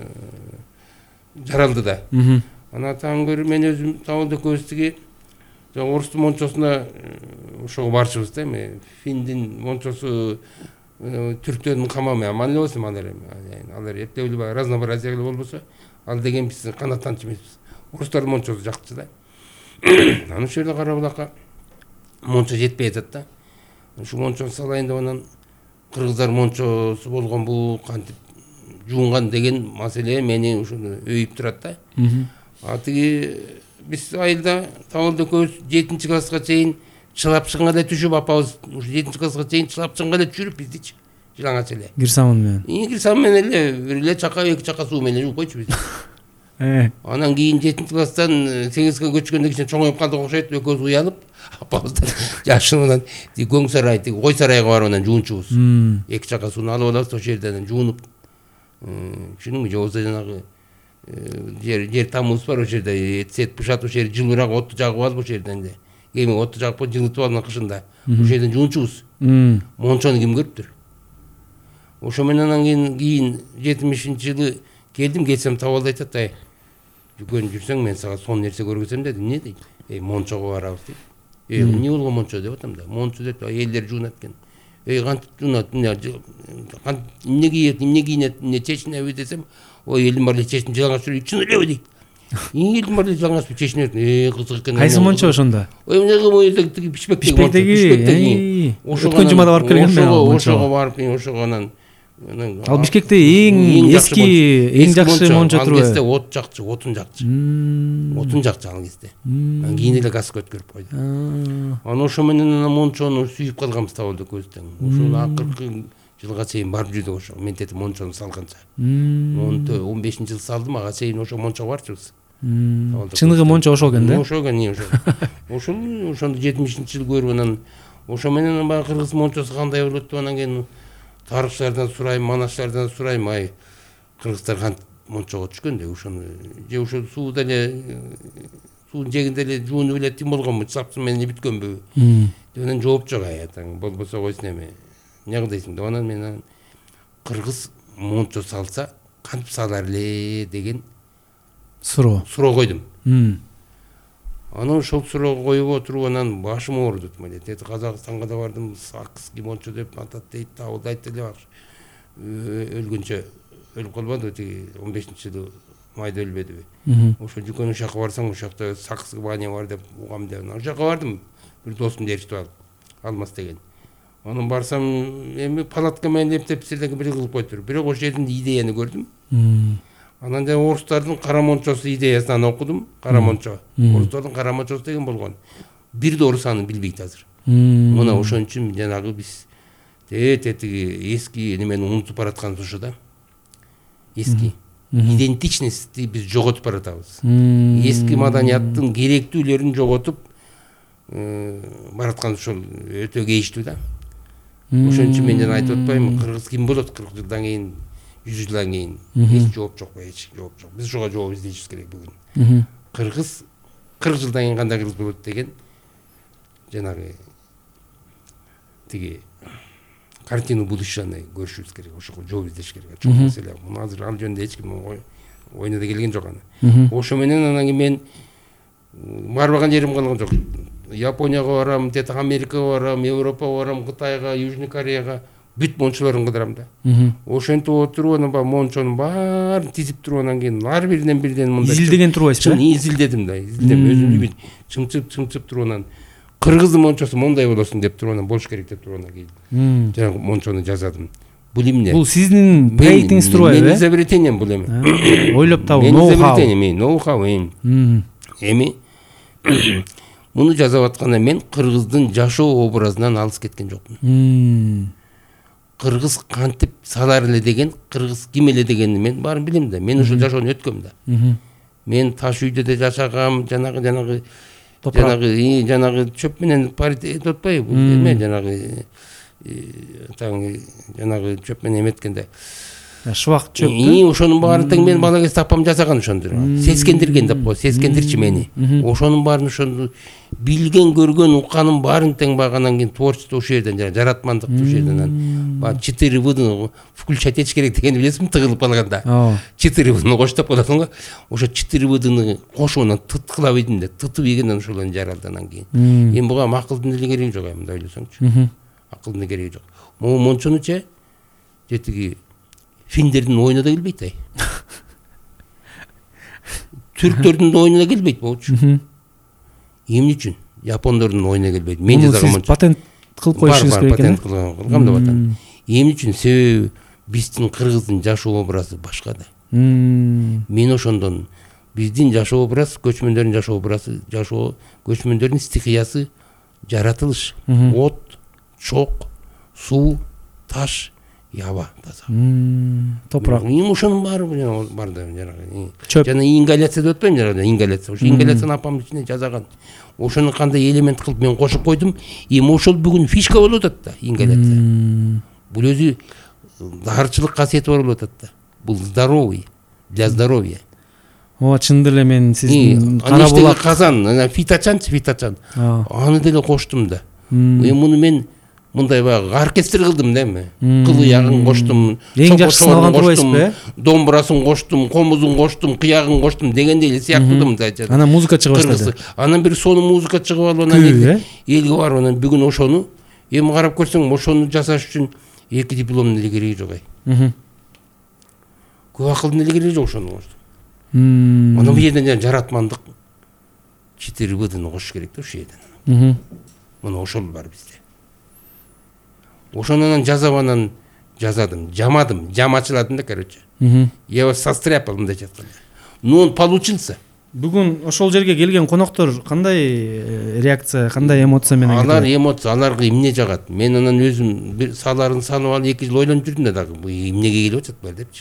жаралды да. Анан таң көрүп мен өзүм табылды көбүстүгү орустун мончосуна ошого барчыбыз да эми финдин мончосу түрктөрдүн камамы аман эле болсо алар эми алар эптелүү баягы разнообразие эле болбосо ал деген биз канааттанчу эмеспиз. Орустардын мончосу жакчы да. Анан ошол жерде Кара Булакка мончо жетпей атат да. Ушу мончону салайын деп анан кыргыздар мончосу болгон бул кантип жуунган деген маселе мени ушуну өйүп турат да. А тиги биз айылда Табылда экөөбүз жетинчи класска чейин чылапчынга эле түшүп апабыз ушу жетинчи класска чейин чылапчынга эле түшүрүп биздичи жылаңач эле. Кирсамын менен. И кирсамын менен эле бир эле чака эки чака суу менен жууп койчу биз. Э. Анан кийин жетинчи класстан сегизге көчкөндө кичине чоңоюп калдык окшойт. Экөөбүз уянып апабыздан жашынынан көң сарай тиги кой сарайга барып анан жуунчубуз. Эки чака сууну алып алабыз, ошол жерден жуунуп. Түшүнүңбү, же болбосо жанагы жер жер тамыбыз бар, ошол жерде эт бышат, ошол жерде жылуураак отту жагып алып ошол жерден эле эми отту жагып жылытып алып кышында ошол жерден жуунчубуз. Мончону ким көрүптүр? Ошо менен анан кийин кийин жетимишинчи жылы келдим, келсем Табылда айтат, ай жүгөн жүрсөң мен сага сонун нерсе көргөзөм деди. Эмне дейт? Эй, мончого барабыз дейт. Эй, эмне болгон мончо деп атам да. Мончо деп элдер жуунат экен. Эй, кантип жуунат? Эмне кийет, эмне кийинет, эмне чечинеби десем, ой, элдин баары чечин жылаңаш жүрүп, чын элеби дейт. Элдин баары жылаңаш чечинет. Эй, кызык экен. Кайсы мончо ошондо? Ой, эмне кылып тиги пишпектеги мончо. Пишпектеги. Өткөн жумада барып келгенмин мен. Ошого барып, ошого анан ал Бишкекте эң эски, эң жакшы мончо турбайбы? Ал кезде от жакчы, отун жакчы. Отун жакчы ал кезде. Анан кийин эле газга өткөрүп койду. Анан ошо менен анан мончону сүйүп калганбыз Табылда көздөн. Ошол акыркы жылга чейин барып жүрдүк ошо. Мен тети мончону салганча. он бешинчи жылы салдым, ага чейин ошо мончо барчыбыз. Чыныгы мончо ошол экен да? Ошол экен, ошол. Ошол ошондо жетимишинчи жылы көрүп анан ошо менен баягы кыргыз мончосу кандай болот деп анан кийин тарыхчылардан сурайм, маначлардан сурайм, ай кыргыздар кантип мончого түшкөн деп ошону же ошо сууда эле суунун жегинде эле жуунуп эле тим болгонбу, чапчы менен бүткөнбү деп анан жооп жок, ай атаң болбосо койсун эми эмне кылдыйсың деп анан мен кыргыз мончо салса кантип салар эле деген суроо суроо койдум. Анан ошол суроого коюп отуруп анан башым ооруду. Тети Казакстанга да бардым, Сакский мончо деп атат дейт, Табылда айтты эле өлгөнчө өлүп калбадыбы, тиги он бешинчи жылы майда өлбөдүбү. Ошо Жүкөн ошол жака барсаң, ошол жакта Сакский баня бар деп угам деп. Ошол жака бардым, бир досумду ээрчитип алып, Алмаз деген. Анан барсам, эми палатка менен эптеп силерге бир кылып койтур. Бирок ошол жердин идеяны көрдүм. Анан да орустардын кара мончосу идеясын окудум. Кара мончо. Орустардын кара мончосу деген болгон. Бир да орус аны билбейт азыр. Мына ошон үчүн жанагы биз тетиги эски немени унутуп баратканыбыз ушул да. Эски идентичностьти биз жоготуп баратабыз. Эски маданияттын керектүүлөрүн жоготуп бараткан ушул өтө кейиштүү да. Ошон үчүн мен жана айтып атпаймынбы, кыргыз ким болот кырк жылдан кийин, жүз жылдан кийин? Эч жооп жок, эч жооп жок. Биз ошого жооп издешибиз керек бүгүн. Кыргыз кырк жылдан кийин кандай кыргыз болот деген жанагы тиги картину будущаны көрүшүбүз керек, ошого жооп издеш керек. Чоң маселе. Муну азыр ал жөнүндө эч ким ойуна да келген жок аны. Ошо менен анан кийин мен барбаган жерим калган жок. Японияга барам, тете Америкага барам, Европага барам, Кытайга, Южный Кореяга бүт мончолорун кыдырам да. Ошентип отуруп анан баягы мончонун баарын тизип туруп анан кийин ар биринен бирден мындай изилдеген турбайсызбы? Чын изилдедим да, изилдем өзүмдү чымчып чымчып туруп анан кыргыздын мончосу мондай болосун деп туруп анан болуш керек деп туруп анан кийин жанагы мончону жасадым. Бул эмне? Бул сиздин проектиңиз турбайбы? Мен изобретением бул эми. Ойлоп табуу, ноу-хау. Мен изобретением, ноу-хау эми. Эми муну жасап атканда мен кыргыздын жашоо образынан алыс кеткен жокмун. Кыргыз кантип салар эле деген, кыргыз ким эле дегенди мен баарын билем да. Мен ушул жашоону өткөм да. Мен таш үйдө да жашагам, жанагы жанагы жанагы жанагы чөп менен паритет отпайбы? Эме жанагы таң жанагы чөп менен эметкенде шыбак чөп. И ошонун баарын тең менин бала кезде апам жасаган ошондур. Сескендирген деп коет, сескендирчи мени. Ошонун баарын ошону билген, көргөн, укканын баарын тең баганан кийин творчество ошол жерден жана жаратмандык ошол жерден. Ба четыре выдын включать этиш керек дегенди билесизби, тыгылып калганда. четыре выдын коштоп каласың го. Ошо четыре выдыны кошуп анан тыткылап ийдим да, тытып ийгенден ошолордун жаралды анан кийин. Эми буга акылдын деле кереги жок, мындай ойлосоңчу. Акылдын кереги жок. Могу мончонуча жетиги финдердин оюна да келбейт ай. Түрктөрдүн оюна да келбейт болчу. Эмне үчүн? Япондордун оюна келбейт. Мен жазган патент кылып коюшуңуз керек экен. Патент кылгам деп атам. Эмне үчүн? Себеби биздин кыргыздын жашоо образы башка да. Мен ошондон биздин жашоо образ, көчмөндөрдүн жашоо образы, жашоо көчмөндөрдүн стихиясы жаратылыш. От, чок, суу, таш, яба таза. Топурак. Эми ошонун баары бар да жанагы. Жана ингаляция деп атпаймынбы жанагы, ингаляция. Ошо ингаляцияны апам ичине жасаган. Ошону кандай элемент кылып мен кошуп койдум. Эми ошол бүгүн фишка болуп атат да, ингаляция. Бул өзү дарчылык касиети бар болуп атат да. Бул здоровый, для здоровья. Ооба, чындыр эле мен сиздин кара булак казан, фиточанчы, фиточан. Аны деле коштум да. Эми муну мен мындай баягы оркестр кылдым да эми. Кыл ягын коштум, эң жакшысын алган турбайсызбы? Домбурасын коштум, комузун коштум, кыягын коштум дегендей эле сыяктуу мындай. Анан музыка чыга баштады. Анан бир сонун музыка чыгып алып анан элге барып анан бүгүн ошону эми карап көрсөң ошону жасаш үчүн эки дипломдун эле кереги жок ай. Көп акылдын эле кереги жок ошону коштум. Анан бул жерден жаратмандык четыре выдыны кошуш керек да ошол жерден. Мына ошол бар бизде. Ошонан жазап анан жазадым, жамадым, жам ачыладым да, короче. Я его состряпал мындай жатканда. Ну он получился. Бүгүн ошол жерге келген коноктор кандай реакция, кандай эмоция менен келди? Алар эмоция, аларга эмне жагат. Мен анан өзүм бир саларын салып алып эки жыл ойлонуп жүрдүм да дагы, бул эмнеге келип атат бул депчи.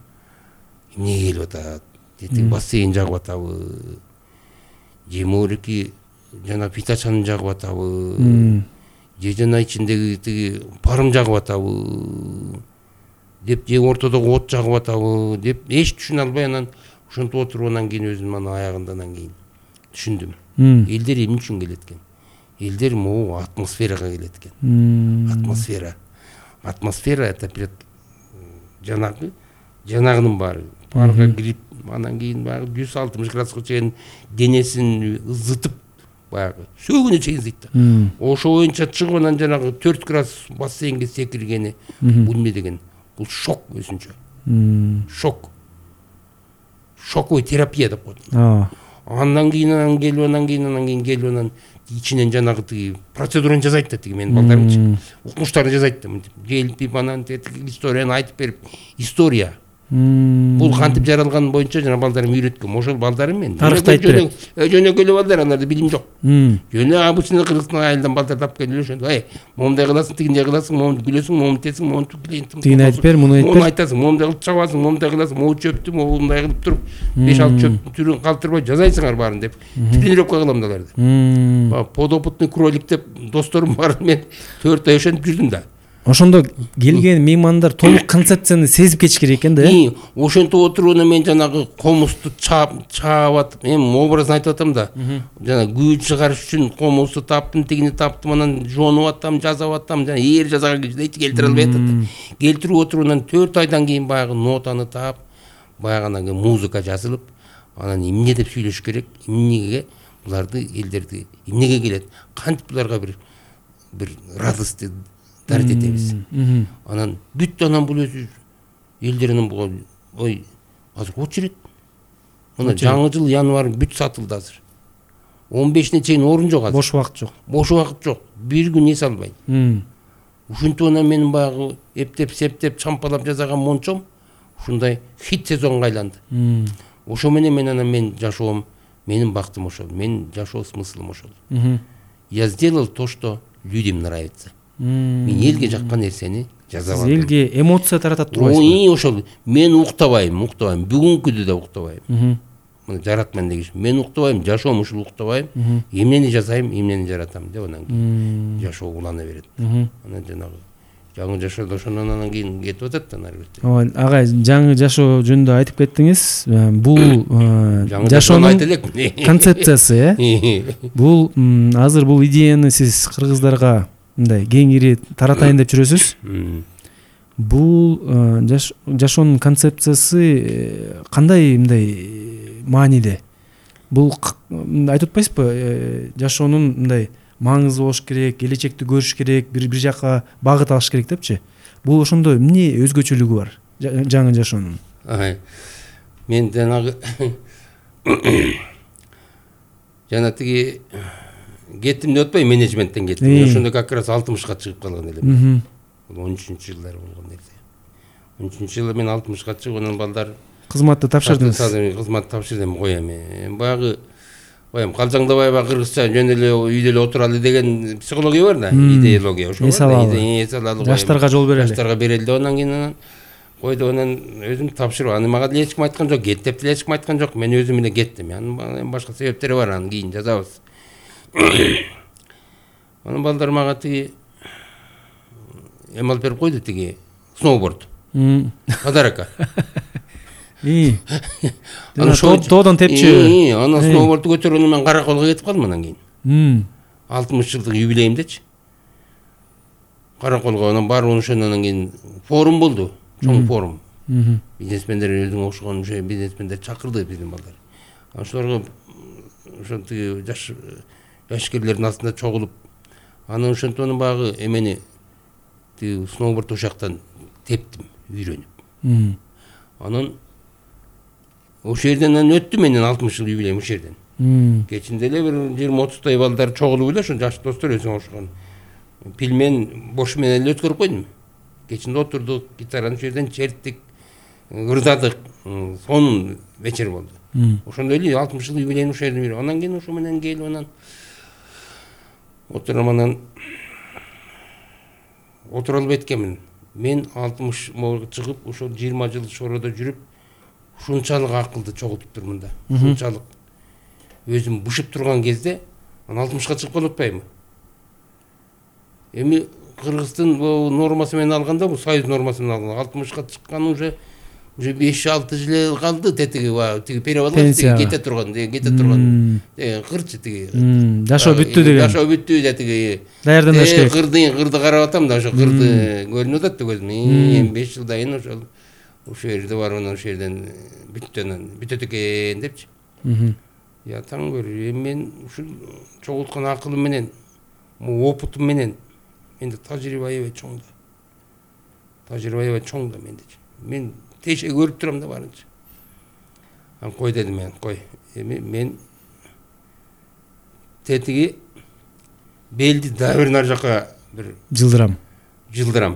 Эмнеге келип атат? Дети бассейн жагып атабы? Же морики жана фиточанын жагып атабы? Же жана ичиндеги тиги парым жагып атабы деп, же ортодогу от жагып атабы деп эч түшүнө албай анан ошентип отуруп анан кийин өзүм анан аягында анан кийин түшүндүм. Элдер эмне үчүн келет экен? Элдер могу атмосферага келет экен. Атмосфера. Атмосфера это жанагы жанагынын баары. Парга кирип анан кийин баягы жүз алтымыш градуска чейин денесин ызытып баягы сөөгүнө чейин ызыйт да. Ошо боюнча чыгып анан жанагы төрт градус бассейнге секиргени бул эмне деген? Бул шок өзүнчө. Шок. Шоковый терапия деп коет. Андан кийин анан келип анан кийин анан кийин келип анан ичинен жанагы тиги процедураны жасайт да, тиги менин балдарымчы. Укмуштарды жасайт да, келип анан историяны айтып берип, история. Бул кантип жаралган боюнча жана балдарым үйрөткөм. Ошол балдарым мен. Тарыхты айтып берет. Жөнөкөй балдар, анарда билим жок. Жөнө обычный кыргызстан айылдан балдар алып келип ошондо, ай, момундай кыласың, тигиндей кыласың, момунду күлөсүң, момунду тесиң, момунду клиентиң. Тигин айтып бер, муну айтып бер. Муну айтасың, момундай кылып чабасың, момундай кыласың, могу чөптү, момундай кылып туруп, беш алты чөптүн түрүн калтырбай жазайсыңар баарын деп. Тренировка кылам да аларды. Подопытный кролик деп досторум бар, мен төрт ай ошентип жүрдүм да. Ошондо келген меймандар толук концепцияны сезип кетиш керек экен да. И ошентип отуруп мен жанагы комузду чаап чаап атып, эми образын айтып атам да. Жана күй чыгарыш үчүн комузду таптым, тигини таптым, анан жонуп атам, жасап атам, жана ээр жасаган кезде эч келтире албай атат. Келтирип отуруп анан төрт айдан кийин баягы нотаны таап, баягы анан музыка жазылып, анан эмне деп сүйлөш керек, эмнеге буларды элдерди, эмнеге келет, кантип буларга бир бир радость дарт этебиз. Анан бүт анан бул өзү элдеринин буга ой азыр очередь. Мына жаңы жыл январь бүт сатылды азыр. он бешине чейин орун жок азыр. Бош убакыт жок. Бош убакыт жок. Бир күн эс албайм. Ушинтип анан менин баягы эптеп септеп чампалап жасаган мончом ушундай хит сезонго айланды. Ошо менен мен анан мен жашоом, менин бактым ошол, менин жашоо смыслым ошол. Я сделал то, что людям нравится. Мен элге жаккан нерсени жазап алдым. Элге эмоция таратат турбайсызбы? Ой, ошол. Мен уктабайм, уктабайм. Бүгүнкүдө да уктабайм. Мына жаратман деген. Мен уктабайм, жашоом ушул уктабайм. Эмнени жасайм, эмнени жаратам деп анан жашоо улана берет. Анан жанагы жаңы жашоодо ошондон анан кийин кетип атат да ары бетте. Ооба, агай жаңы жашоо жөнүндө айтып кеттиңиз. Бул жашоонун концепциясы, э? Бул азыр бул идеяны сиз кыргыздарга мындай кеңири таратайын деп жүрөсүз. Бул жашоонун концепциясы кандай мындай мааниде? Бул айтып атпайсызбы, жашоонун мындай маңызы болуш керек, келечекти көрүш керек, бир бир жака багыт алыш керек депчи. Бул ошондо эмне өзгөчөлүгү бар жаңы жашоонун? Мен жанагы жана тиги кеттим деп атпайбы, менеджменттен кеттим. Ошондо как раз алтымышка чыгып калган элем. Бул он үчүнчү жылдары болгон нерсе. он үчүнчү жылы мен алтымышка чыгып, анан балдар кызматты тапшырдыңыз. Кызматты тапшырдым, коем. Баягы коем калжаңдабайбы кыргызча жөн эле үйдө эле отуралы деген психология бар да, идеология ошо. Жаштарга жол берели. Жаштарга берели деп анан кийин анан койду, анан өзүм тапшырып, аны мага деле эч ким айткан жок, кет деп деле эч ким айткан жок. Мен өзүм эле кеттим. Анын башка себептери бар, анан кийин жазабыз. Анан балдар мага тиги эме алып берип койду, тиги сноуборд. Подарокко. И. Тоодон тепчи. Анан сноубордду көтөргөндө мен Караколго кетип калдым анан кийин. алтымыш жылдык юбилейимдечи. Караколго анан барып ошондон анан кийин форум болду, чоң форум. Бизнесмендер өзүңө окшогон ошо бизнесмендер чакырды биздин балдар. Ошолорго ошо тиги жаш жашкерлердин астында чогулуп, анан ошентип анан баягы эмени тиги сноуборд ошактан тептим, үйрөнүп. Анан ошол жерден анан өттү менин алтымыш жыл юбилейим ошол жерден. Кечинде эле бир жыйырма отуздай балдар чогулуп эле ошо жаш достор өзүңө окшогон. Пилмен, бош менен эле өткөрүп койдум. Кечинде отурдук, гитараны ошол жерден черттик, ырдадык. Сонун вечер болду. Ошондой эле алтымыш жыл юбилейим ошол жерден үйрөнүп. Анан кийин ошо менен келип анан отурам, анан отура албай эткенмин. Мен алтымышка чыгып, ошо жыйырма жыл шороодо жүрүп, ушунчалык акылды чогултуп турмун да. Ушунчалык өзүм бушуп турган кезде, анан алтымышка чыгып калып атпаймынбы? Эми Кыргыздын нормасы менен алганда, бул союз нормасы менен алганда, алтымышка чыккан уже уже беш алты жыл калды, тетиги тиги перевалга кете турган, кете турган. Кырчы тиги. Жашоо бүттү деген. Жашоо бүттү тиги. Даярданыш керек. Кырды, кырды карап атам да, ошо кырды көрүнүп атат да көзүмө. Эми беш жылдан кийин ошол ошол жерде барып анан ошол жерден бүттөн бүтөт экен депчи. Я таң көр, эми мен ушул чогулткан акылым менен, опытым менен менде тажрыйба аябай чоң да. Тажрыйба аябай чоң да менде. Мен теше көрүп турам да барынча. Ан кой дедим мен, кой. Эми мен тетиги белди да бир нар жака бир жылдырам. Жылдырам.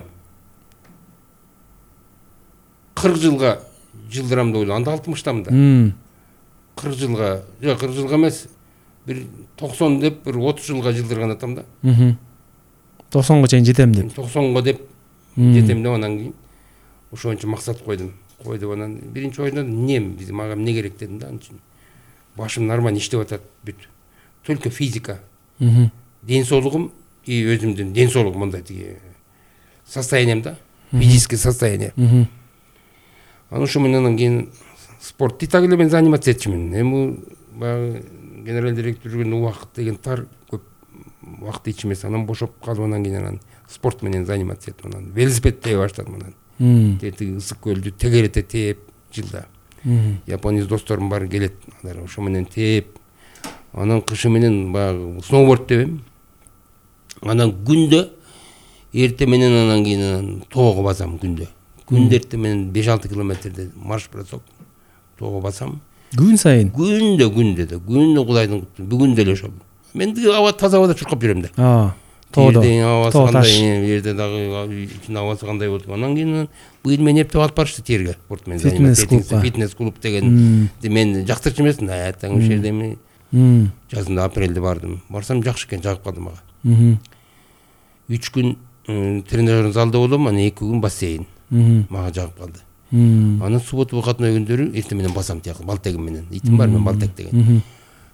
кырк жылга жылдырам деп ойлойм. Анда алтымыштамын да. кырк жылга, жок кырк жылга эмес, бир токсон деп бир отуз жылга жылдырган атам да. токсонго чейин жетем деп. токсонго деп жетем деп анан кийин ошончо максат койдум. Койдуп анан биринчи ойдон эмне биз мага эмне керек дедим да. Башым нормально иштеп атат, бүт. Только физика. Ден соолугум и өзүмдүн ден соолугум мындай тиги состоянием да, физическое состояние. Анан ошо менен кийин спорт и так эле мен заниматься этчимин. Эми баягы генерал директор жүргөн убакыт деген тар, көп убакыт эч эмес. Анан бошоп калып анан кийин анан спорт менен заниматься этип анан велосипед тее баштадым анан. Тетиги ысык көлдү тегерете тээп жылда. Япониялык досторум бар келет, алар ошо менен тээп. Анан кышы менен баягы сноуборд тебем. Анан күндө эрте менен анан кийин тоого басам күндө. Күндө эрте менен беш алты километрде марш бросок тоого басам. Күн сайын. Күндө күндө да, күндө Кудайдын кутту. Бүгүн деле ошол. Мен тиги аба таза абада чуркап жүрөм да. А, тоодо. Тоо таш. Жерде дагы ичинин абасы кандай болду. Анан кийин быйыл мени эптеп алып барышты терге. Спорт менен заниматься. Фитнес клуб деген. Мен жактырчу эмесмин. Атаң ошол жерде эми жазында апрелде бардым. Барсам жакшы экен, жагып калды мага. үч күн тренажерный залда болом, анан эки күн бассейн. Мага жагып калды. Анан суббота выходной күндөрү эрте менен басам тияк балтегим менен. Итим бар мен балтек деген.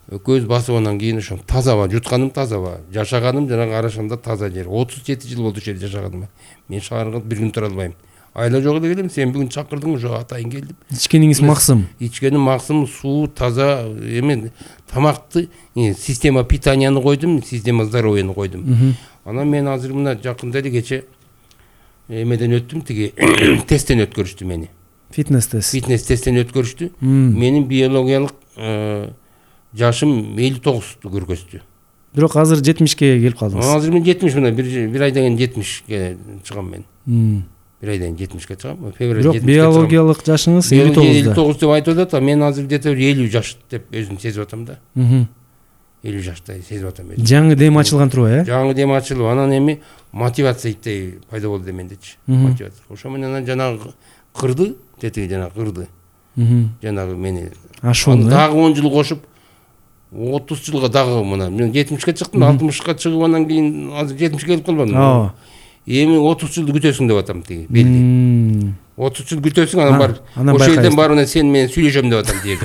көз басып анан кийин ошо тазаба, жутканым тазаба, жашаганым жанагы Арашанда таза жер. отуз жети жыл болду ошол жерде жашаганыма. Мен шаарга бир күн тура албайм. Айла жок эле келем, сен бүгүн чакырдың, ошо атайын келдим. Ичкениңиз максым. Ичкеним максым суу таза, эме тамакты, система питанияны койдум, система здоровьяны койдум. Анан мен азыр мына жакында эле кече эмеден өттүм, тиги тесттен өткөрүштү мени. Фитнес тест. Фитнес тесттен өткөрүштү. Менин биологиялык жашым элүү тогузду көргөздү. Бирок азыр жетимишке келип калдыңыз. Азыр мен жетимиш мына бир бир айдан кийин жетимишке чыгам мен. Бир айдан кийин жетимишке чыгам. Февраль жетимишке. Бирок биологиялык жашыңыз элүү тогузда. элүү тогуз деп айтып атат, а мен азыр где-то элүү жаш деп өзүм сезип атам да. элүү жаштай сезип атам өзүм. Жаңы дем ачылган турбайбы, э? Жаңы дем ачылып, анан эми мотивация иттей пайда болду мендечи. Мотивация. Ошо менен жанагы кырды, тетиги жанагы кырды. Жанагы мени ашуун, дагы он жыл кошуп отуз жылга дагы мына мен жетимишке чыктым, алтымышка чыгып анан кийин азыр жетимишке келип калбадым. Ооба. Эми отуз жылды күтөсүң деп атам тиги белди. отуз жыл күтөсүң, анан барып ошол жерден барып анан сен менен сүйлөшөм деп атам тиги.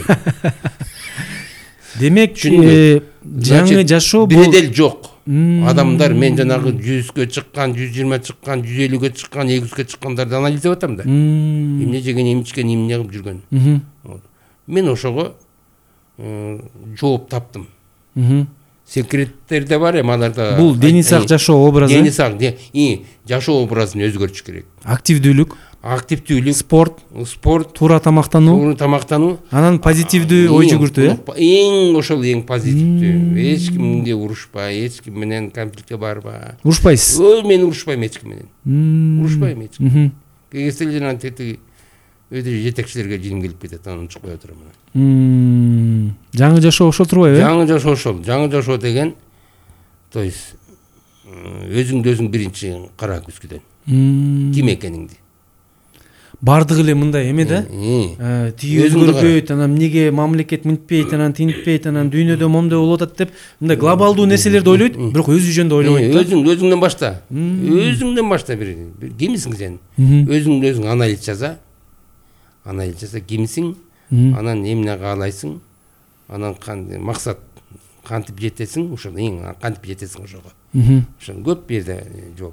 Демек, жаңы жашоо бул бедел жок. Адамдар мен жанагы жүзгө чыккан, жүз жыйырма чыккан, жүз элүүгө чыккан, эки жүзгө чыккандарды анализдеп атам да. Эмне жеген, эмне ичкен, эмне кылып жүргөн. Мен ошого жооп таптым. Секреттер да бар эми аларда. Бул дени сак жашоо образы. Дени сак, и жашоо образын өзгөртүш керек. Активдүүлүк, активдүүлүк, спорт, спорт, туура тамактануу, туура тамактануу, анан позитивдүү ой жүгүртүү, э? Эң ошол эң позитивдүү. Эч кимге урушпай, эч ким менен конфликтке барбай. Урушпайсыз? Ой, мен урушпайм эч ким менен. Урушпайм эч ким. Кегестел жана тетиги өтө жетекчилерге жиним келип кетет, анан учуп кое турам. Жаңы жашоо ошол турбайбы? Жаңы жашоо ошол. Жаңы жашоо деген, то есть өзүңдү өзүң биринчи кара күзгүдөн. Ким экениңди. Бардыгы эле мындай эме да. Тиги өзгөрбөйт, анан эмнеге мамлекет мынтпейт, анан тинтпейт, анан дүйнөдө момдой болуп атат деп, мындай глобалдуу нерселерди ойлойт, бирок өзү жөнүндө ойлобойт. Өзүң өзүңдөн башта. Өзүңдөн башта бир кимсиң сен? Өзүңдү өзүң анализ жаза. Анализ жаза кимсиң? Анан эмне каалайсың? Анан максат кантип жетесиң? Ошол эң кантип жетесиң ошого. Ошол көп бир жерде жол.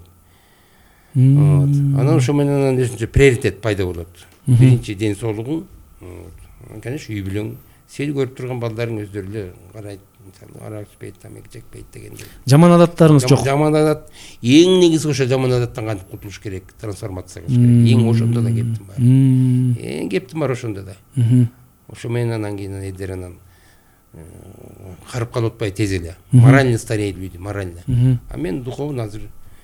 Анан ошо менен өзүнчө приоритет пайда болот. Биринчи ден соолугуң, конечно, үй бүлөң, сени көрүп турган балдарың өздөрү эле карайт, мисалы, арак ичпейт, тамак жекпейт дегенде. Жаман адаттарыңыз жок. Жаман адат, эң негизи ошо жаман адаттан кантип кутулуш керек, трансформация кылыш керек. Эң ошондо да кептим бар. Эң кептим бар ошондо да. Ошо менен анан кийин элдер анан карып калып атпай тез эле. Морально стареет люди, морально. А мен духовно азыр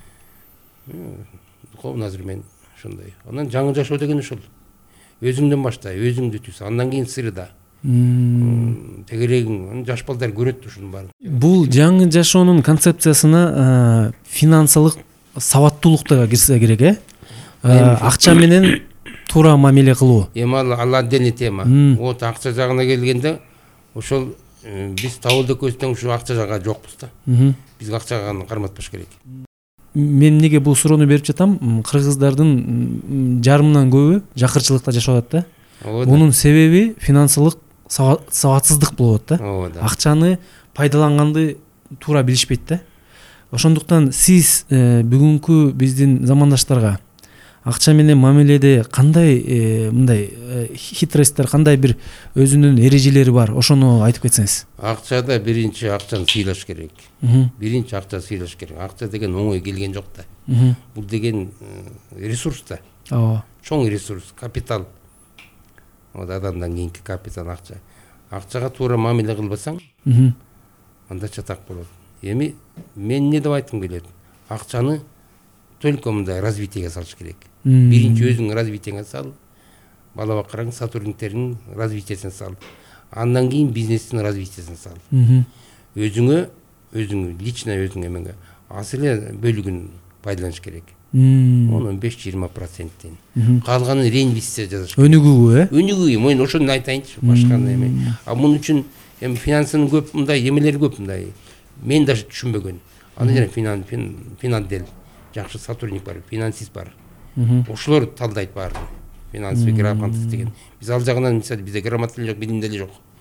духовно азыр мен ошондой. Анан жаңы жашоо деген ошол. Өзүңдөн башта, өзүңдү түз, андан кийин сырда. Тегерегиң, жаш балдар көрөт ушунун баарын. Бул жаңы жашоонун концепциясына финансылык сабаттуулук да кирсе керек, э? Акча менен туура мамиле кылуу. Эми ал отдельный тема. Вот акча жагына келгенде ошол биз табылды көзтөн ушу акча жагы жокпуз да. Биз акчага карматпаш керек. Мен эмнеге бул суроону берип жатам? Кыргыздардын жарымынан көбү жакырчылыкта жашап атат да. Бунун себеби финансылык сабатсыздык болуп атат да. Акчаны пайдаланганды туура билишпейт да. Ошондуктан сиз бүгүнкү биздин замандаштарга акча менен мамиледе кандай мындай хитросттер, кандай бир өзүнүн эрежелери бар, ошону айтып кетсеңиз. Акчада биринчи акчаны сыйлаш керек. Биринчи акча сыйлаш керек. Акча деген оңой келген жок да. Бул деген ресурс да. Ооба. Чоң ресурс, капитал. Вот адамдан кийинки капитал акча. Акчага туура мамиле кылбасаң, анда чатак болот. Эми мен эмне деп айткым келет? Акчаны только мындай развитиеге салыш керек. Биринчи өзүң развитиеңе сал, бала бакыраң, сотрудниктердин развитиесине сал. Андан кийин бизнестин развитиесине сал. Өзүңө, өзүң лично өзүң эмеге аз эле бөлүгүн пайдаланыш керек. он беш жыйырма проценттен. Калганын реинвестиция жасаш керек. Өнүгүүгө, э? Өнүгүүгө, мен ошону айтайынчы, башка эме. А мун үчүн эми финансынын көп мындай эмелери көп мындай. Мен даже түшүнбөгөн. Анда жана финанс, финандел, жакшы сотрудник бар, финансист бар. Ошолор талдайт баарын. Финансовый грамотность деген. Биз ал жагынан мисалы бизде грамота жок, билим деле жок.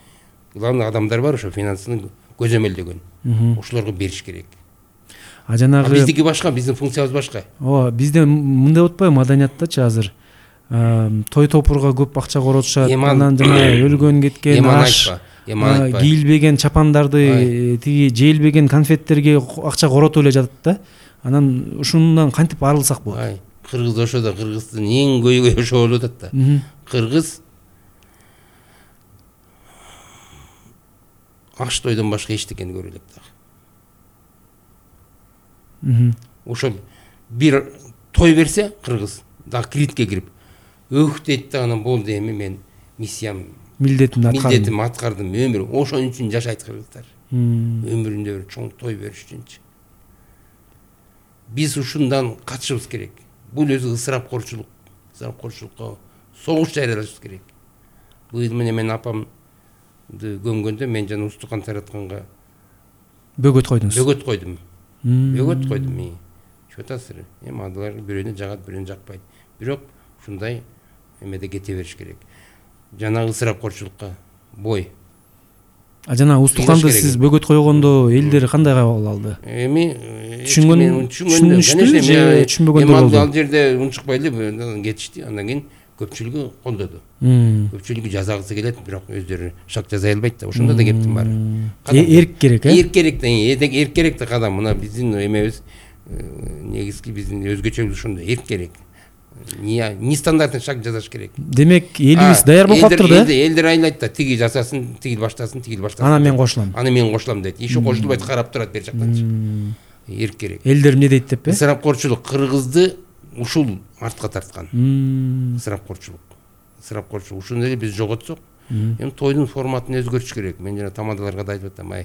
главный адамдар бар ошо финансыны көзөмөлдөгөн. Ошолорго бериш керек. А жанагы биздики башка, биздин функциябыз башка. Ооба, бизде мындай болуп атпайбы маданияттачы азыр? Той топурга көп акча коротушат, анан жана өлгөн кеткен аш, кийилбеген чапандарды, тиги жейлбеген конфеттерге акча коротуп эле жатат да. Анан ушундан кантип арылсак болот? Кыргыз ошодо, Кыргыздын эң көйгөйү ошо болуп атат да. Кыргыз аш тойдон башка эчтекени көрө элек да. Ошо бир той берсе кыргыз да кредитке кирип өк дейт да, анан болду, эми мен миссиям, милдетимди аткардым. Милдетимди аткардым, өмүр ошон үчүн жашайт кыргыздар. Өмүрүндө бир чоң той бериш үчүнчү. Биз ушундан качышыбыз керек. Бул өзү ысырапкорчулук, ысырапкорчулукка согуш жарыялашыбыз керек. Быйыл менен мен апамды көмгөндө мен жана устукан таратканга бөгөт койдуңуз. Бөгөт койдум. Бөгөт койдум. Чөтасыр. Эми адалар бирөөнү жагат, бирөөнү жакпайт. Бирок ушундай эмеде кете бериш керек. Жана ысырапкорчулукка бой. А жана устуканды сиз бөгөт койгондо элдер кандай кабыл алды? Эми түшүнгөн, түшүнүштү же түшүнбөгөндөр болду? Ал жерде унчукпай эле кетишти. Андан кийин көпчүлүгү колдоду. Көпчүлүгү жазагысы келет, бирок өздөрү шак жаза албайт да. Ошондо да кептин баары. Эрк керек, э? Эрк керек да, эрк керек да кадам. Мына биздин эмебиз негизги биздин өзгөчөлүгү ошондо, эрк керек. Не стандартын шаг жазаш керек. Демек, элибиз даяр болуп калыптыр да? Элдер айлайт да, тиги жасасын, тигил баштасын, тигил баштасын. Аны мен кошулам. Аны мен кошулам дейт. Иши кошулбайт, карап турат бер жактанчы. Эрк керек. Элдер эмне дейт деп, э? Ысырапкорчулук Кыргызды ушул артка тарткан. Ысырапкорчулук. Ысырапкорчулук. Ушуну эле биз жоготсок, эми тойдун форматын өзгөртүш керек. Мен жана тамадаларга да айтып атам, ай.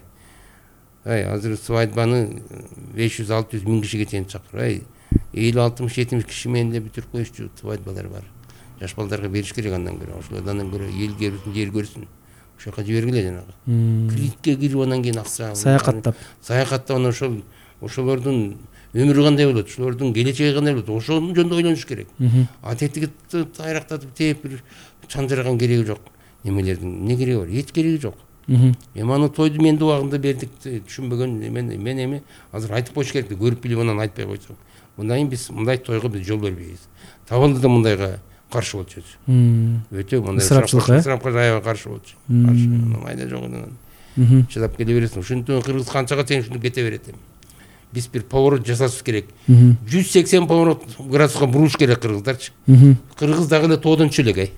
Ай, азыр свадьбаны беш жүз алты жүз миң кишиге чейин чакыр. Ай, элүү алтымыш жетимиш киши менен эле бүтүрүп коюшчу свадьбалар бар. Жаш балдарга бериш керек андан көрө. Ошолордан көрө эл көрсүн, жер көрсүн. Ошол жака жибергиле жанагы. Кредитке кирип анан кийин акча. Саякаттап. Саякаттап анан ошол ошолордун өмүрү кандай болот, ошолордун келечеги кандай болот, ошонун жөнүндө ойлонуш керек. А тетиги тайрактатып тээп бир чанжырган кереги жок. Немелердин эмне кереги бар? Эч кереги жок. Эми аны тойду мен убагында бердик, түшүнбөгөн мен мен эми азыр айтып коюш керек, көрүп билип анан айтпай койсок. Мындай биз мындай тойго биз жол бербейбиз. Табылды да мындайга каршы болчубуз. Өтө мындай ысырапчылык, ысырапка аябай каршы болчу. Каршы. Майда жок анан. Чыдап келе бересиң. Ушинтип Кыргыз канчага чейин ушинтип кете берет эми. Биз бир поворот жасашыбыз керек. жүз сексен поворот градуска буруш керек кыргыздарчы. Кыргыз дагы эле тоодончу элек, ай.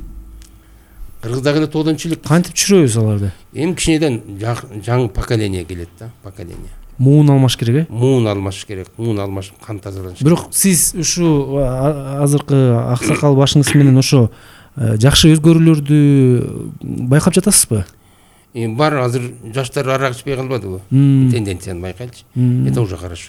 Кыргыз дагы эле тоодончу элек. Кантип түшүрөбүз аларды? Эми кичинеден жаңы поколение келет да, поколение. Муун алмаш керек, э? Муун алмаш керек. Муун алмаш, кан тазаланыш. Бирок сиз ушу азыркы аксакал башыңыз менен ошо жакшы өзгөрүүлөрдү байкап жатасызбы? Эми бар, азыр жаштар арак ичпей калбадыбы? Тенденцияны байкайлычы. Это уже хорошо.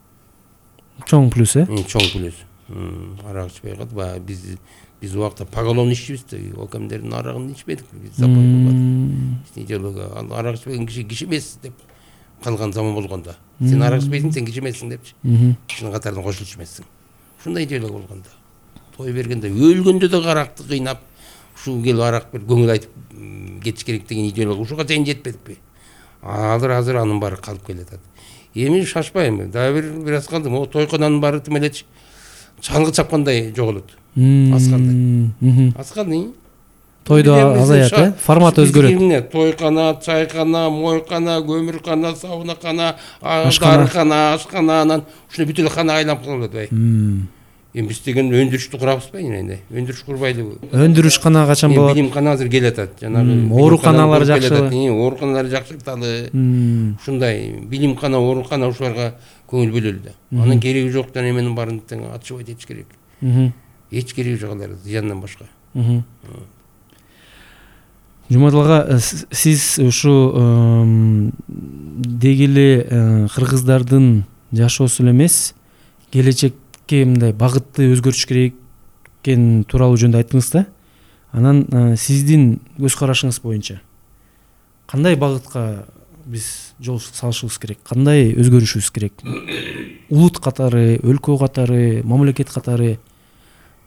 Чоң плюс, э? Чоң плюс. Арак ичпей калды. Биз биз убакта поголовно иччүбүз да, окемдердин арагын ичпедик. Биз запой кылбадык. Идеология, арак ичпеген киши киши эмес деп калган заман болгондо. Сен арак ичпейсиң, сен киши эмессиң депчи. Кишинин катарына кошулчу эмессиң. Ушундай идеология болгондо. Той бергенде өлгөндө да аракты кыйнап, ушул келип арак бер көңүл айтып кетиш керек деген идеология ушуга чейин жетпедикпи? Азыр азыр анын баары калып келатат. Эми шашпайм. Дагы бир бир аз калды. Могу тойконанын баары тимелечи чалгы чапкандай жоголот. Аскандай. Аскандай. Тойдо азаят, э? Формат өзгөрөт. Тойкана, чайкана, мойкана, көмүркана, саунакана, дарыкана, ашкана, анан ушуну бүт эле кана айланып калат, бай. Эми биз деген өндүрүштү курабызбы эне? Өндүрүш курбайлыбы? Өндүрүш кана качан болот? Билим кана азыр келатат. Жанагы ооруканалар жакшы. Ооруканалар жакшырталы. Ушундай билим кана, оорукана ушуларга көңүл бөлөлү да. Анын кереги жок да, эменин баарын тең атышып айтыш керек. Эч кереги жок алар, зыяндан башка. Жумадыл ага, сиз ушу дегеле кыргыздардын жашоосу эле эмес, келечекке мындай багытты өзгөртүш керек экен тууралуу жөнүндө айттыңыз да. Анан сиздин көз карашыңыз боюнча кандай багытка биз жол салышыбыз керек, кандай өзгөрүшүбүз керек? Улут катары, өлкө катары, мамлекет катары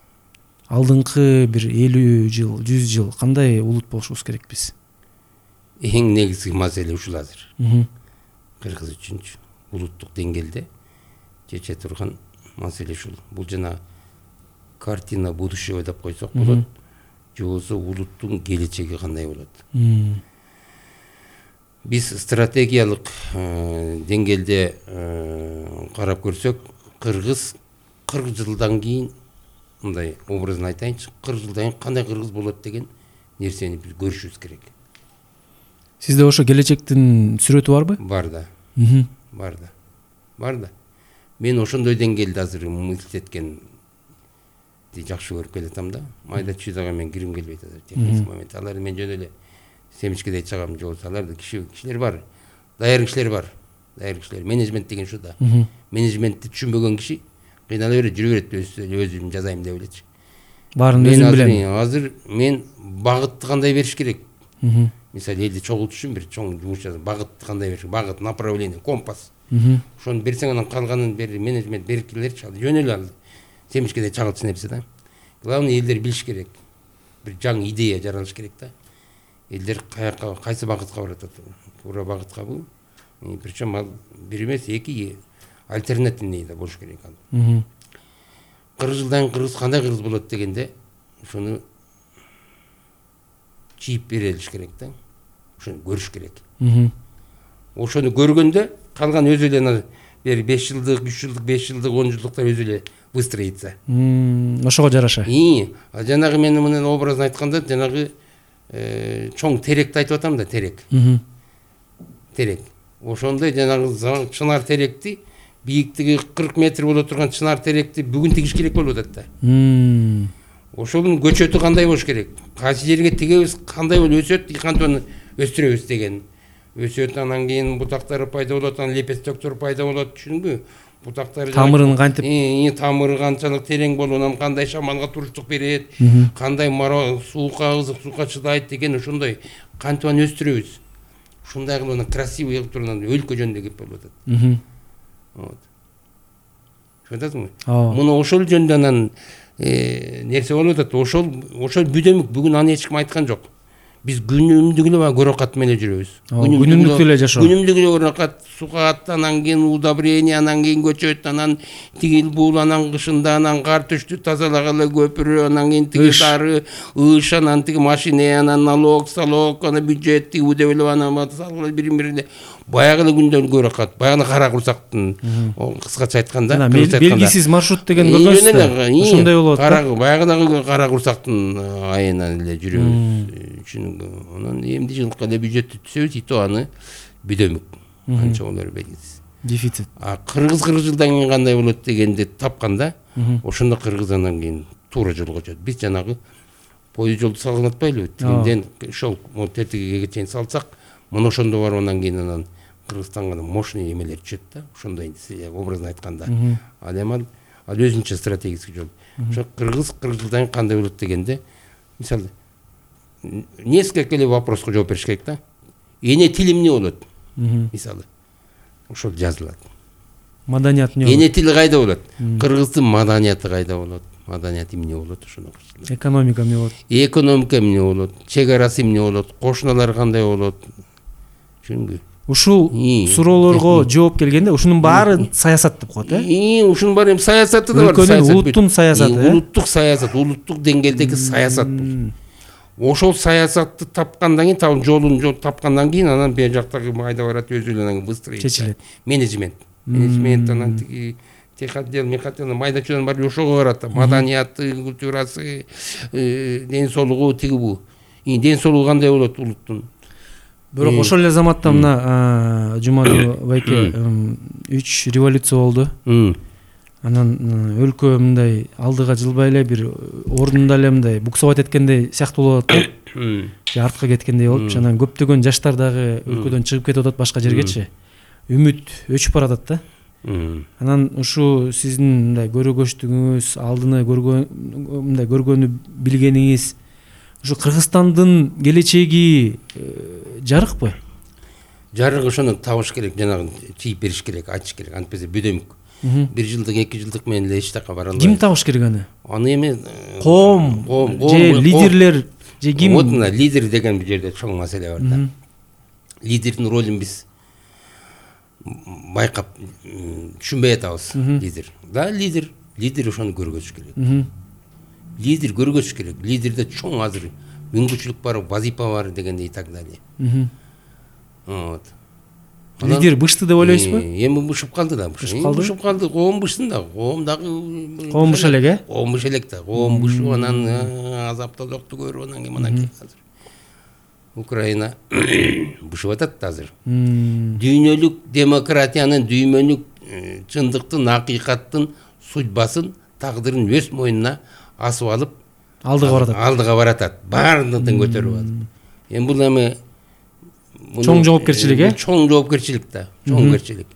алдыңкы бир элүү жыл, жүз жыл кандай улут болушубуз керек биз? эң негизги маселе ушул азыр. Мгм. Кыргыз үчүнчү улуттук деңгээлде чече турган маселе ушул. Бул жана картина будущего деп койсок болот. Же болбосо улуттун келечеги кандай болот. Мм. Биз стратегиялык э, деңгээлде э, карап көрсөк, кыргыз кырк жылдан кийин мындай образын айтайынчы, кырк жылдан кийин кандай кыргыз болот деген нерсени биз көрүшүбүз керек. Сизде ошо келечектин сүрөтү барбы? Бар да, Мгм. бар да. Бар да. Мен ошондой деңгээлде азыр мысль эткенди жакшы көрүп келатам да. Майда чүйдөгө мен кирим келбейт азыр. Техник момент. Алар мен жөн эле семичкедей чыгам, же болбосо аларда киши кишилер бар. Даяр кишилер бар. Даяр кишилер. Менеджмент деген шу да. Мгм. Менеджментти түшүнбөгөн киши кыйнала берет, жүрө берет, өзүм жазайм деп элечи. Баарын Мен өзүм азыр, билем. азыр мен багытты кандай бериш керек? Мгм. Мисалы элди чогултуш үчүн бир чоң жумуш жазып, багытты кандай бериш? Багыт, направление, компас. Мгм. Ошону берсең, анан калганын бери менеджмент берип келерчи, жөн эле ал. Семичкеде чагылчу нерсе да. Главное, элдер билиш керек. Бир жаңы идея жаралыш керек да. Элдер каяка, кайсы багытка баратат? Туура багыткабы? Причем ал бир эмес, эки альтернативный да болуш керек ал. Мгм. кырк жылдан кыргыз кандай кыргыз болот дегенде, ошону чийип берилиш керек да. Ошону көрүш керек. Мгм. Ошону көргөндө калган өзү эле бир беш жылдык, үч жылдык, беш жылдык, он жылдыктар өзү эле выстроится. Мм, ошого жараша. И, а жанагы мен менен образын айтканда, жанагы э, чоң теректи айтып атам да, терек. Мгм. Терек. Ошондой жанагы за- чынар теректи, бийиктиги кырк метр боло турган чынар теректи бүгүн тигиш керек болуп атат да. Мм. Ошонун көчөтү кандай болуш керек? Кайсы жерге тигебиз, кандай болуп өсөт, кантип аны өстүрөбүз деген. Өсөт, анан кийин бутактары пайда болот, анан лепестектер пайда болот, түшүндүңбү? Бутактары Тамырын кантип? И, тамыры канчалык терең болуп, анан кандай шамалга туруштук берет, кандай мара суукка, ызык суукка чыдайт деген ошондой кантип аны өстүрөбүз. Ушундай кылып анан красивый кылып туруп анан өлкө жөнүндө кеп болуп атат. Мгм. Вот. Түшүнөсүңбү? Ооба. Муну ошол жөнүндө анан э, нерсе болуп атат. Ошол ошол бүдөмүк бүгүн аны эч ким айткан жок. Биз күнүмдүк эле баягы көрөкат менен жүрөбүз. Ооба, күнүмдүк эле жашоо. Күнүмдүк эле көрөкат, сугат, анан кийин удобрение, анан кийин көчөт, анан тигил бул, анан кышында анан кар түштү, тазалагалы көпүрө, анан кийин тиги Ыш. дары, ыш, анан тиги машина, анан налог, салог, анан бюджет, тиги деп эле анан салгылы бирин-бирине баягы эле күндөн көрөкат, баягы эле кара курсактын, кыскача айтканда, Жана кыргызча айтканда. белгисиз маршрут деген И, көргөнсүз жөн да. эле, и, Ошондой болот да. кара- баягы дагы кара курсактын айынан эле жүрөбүз. Чүнүгү. Анан эмди жылкы эле бюджетти түзөбүз, и то аны бүдөмүк. Канча болору белгисиз. Дефицит. А кыргыз кырк жылдан кийин кандай болот дегенди тапканда, ошондо кыргыз анан кийин туура жолго өтөт. Биз жанагы пойыз жолду салган атпайлыбы? Тигинден ошол тетигиге чейин салсак, мына ошондо барып анан кийин анан Кыргызстанга мощный эмелер түшөт да. Ошондой образын айтканда. Ал эми ал ал өзүнчө стратегический жол. Ошо кыргыз кырк жылдан кийин кандай болот дегенде, мисалы несколько эле вопроско жооп бериш керек да. Эне тилим эмне болот? Мисалы ошол жазылат. Маданият эмне болот? Эне тили кайда болот? Кыргыздын маданияты кайда болот? Маданият эмне болот ошону? Экономика эмне болот? Экономика эмне болот? Чек арасы эмне болот? Кошуналар кандай болот? Түшүндүңбү? Ушул И, суроолорго жооп келгенде ушунун баары саясат деп коет, э? И ушунун баары эми саясаты да бар. Өлкөнүн, саясат. улуттун саясаты, И, э? Улуттук саясат, улуттук деңгээлдеги саясат бул. Ошол саясатты тапкандан кийин, табын жолун жол тапкандан кийин анан бер жактагы майда барат өзү эле анан выстроить. Чечилет. Менеджмент. Менеджмент анан тиги техотдел, мехотдел, майда чөөн бар ошого барат. Маданияты, культурасы, ден соолугу тиги бу. И ден соолугу кандай болот улуттун? Бирок ошол эле заматта мына Жумадуу байке үч революция болду. Анан өлкө мындай алдыга жылбай эле бир ордунда эле мындай буксовать эткендей сыяктуу болуп атат. Же артка кеткендей болуп, анан көптөгөн жаштар дагы өлкөдөн чыгып кетип атат башка жергечи. Үмүт өчүп баратат да. Анан ушу сиздин мындай көрөгөчтүгүңүз, алдыны көргөн мындай көргөнү билгениңиз ушу Кыргызстандын келечеги жарыкпы? Жарык ошону табыш керек, жанагы чийип бериш керек, айтыш керек, антпесе бүдөмүк. Бир жылдык, эки жылдык менен эле эч жака бара албайт. Ким табыш керек аны? Аны эми Коом же лидерлер же ким? Вот мына лидер деген бир жерде чоң маселе бар да. лидердин ролун биз байкап түшүнбөй атабыз. Лидер да лидер лидер ошону көргөзүш керек. Лидер көргөзүш керек. Лидерде чоң азыр мүмкүнчүлүк бар, вазипа бар дегендей и так далее. Вот. Лидер бышты деп ойлойсузбу? Эми бышып калды да. Бышып калды. Коом бышсын да. Коом дагы коом быш элек, э? Коом быш элек да. Коом бышып анан азаптоодукту көрүп анан кийин анан азыр Украина бышып атат азыр. Дүйнөлүк демократиянын, дүйнөлүк чындыктын, акыйкаттын судьбасын, тагдырын өз мойнуна асып алып алдыга баратат. Алдыга баратат. Баардыгын көтөрүп алып. Эми бул эми чоң жоопкерчилик, э? Чоң жоопкерчилик да, жоопкерчилик.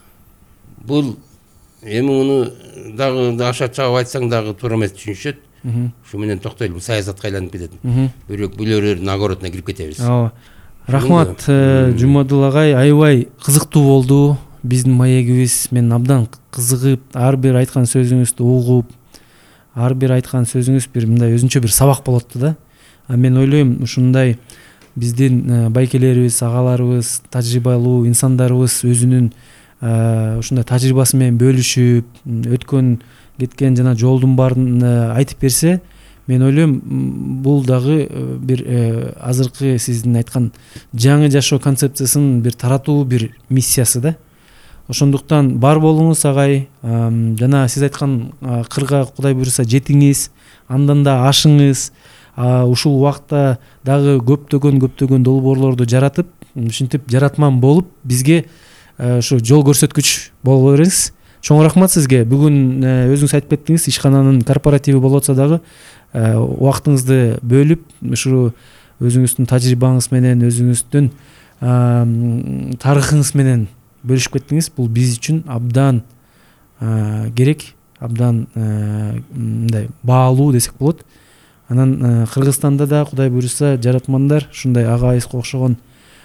Бул эми муну дагы аша чагып айтсаң дагы туура эмес түшүнүшөт. Ушу менен токтойлу, бул саясатка айланып кетет. Бирок бүлөрөр нагородуна кирип кетебиз. Ооба. Рахмат, Жумадыл агай, аябай кызыктуу болду. Биздин маегибиз, мен абдан кызыгып, ар бир айткан сөзүңүздү угуп, ар бир айткан сөзүңүз бир мындай өзүнчө бир сабак болот да. А мен ойлойм, ушундай биздин байкелерибиз, агаларыбыз, тажрыйбалуу инсандарыбыз өзүнүн ушундай тажрыйбасы менен бөлүшүп, өткөн кеткен жана жолдун баарын айтып берсе, мен ойлойм, бул дагы бир азыркы сиздин айткан жаңы жашоо концепциясын бир таратуу бир миссиясы да. Ошондуктан бар болуңуз агай, жана сиз айткан кырга Кудай буйруса жетиңиз, андан да ашыңыз. Ушул убакта дагы көптөгөн көптөгөн долбоорлорду жаратып, ушинтип жаратман болуп, бизге ушу жол көрсөткүч боло бериңиз. Чоң рахмат сизге. Бүгүн өзүңүз айтып кеттиңиз, ишкананын корпоративи болуп атса дагы убактыңызды бөлүп, ушу өзүңүздүн тажрыйбаңыз менен, өзүңүздүн тарыхыңыз менен бөлүшүп кеттиңиз. Бул биз үчүн абдан керек, абдан мындай баалуу десек болот. Анан Кыргызстанда да Кудай буйруса жаратмандар ушундай агайыбызга окшогон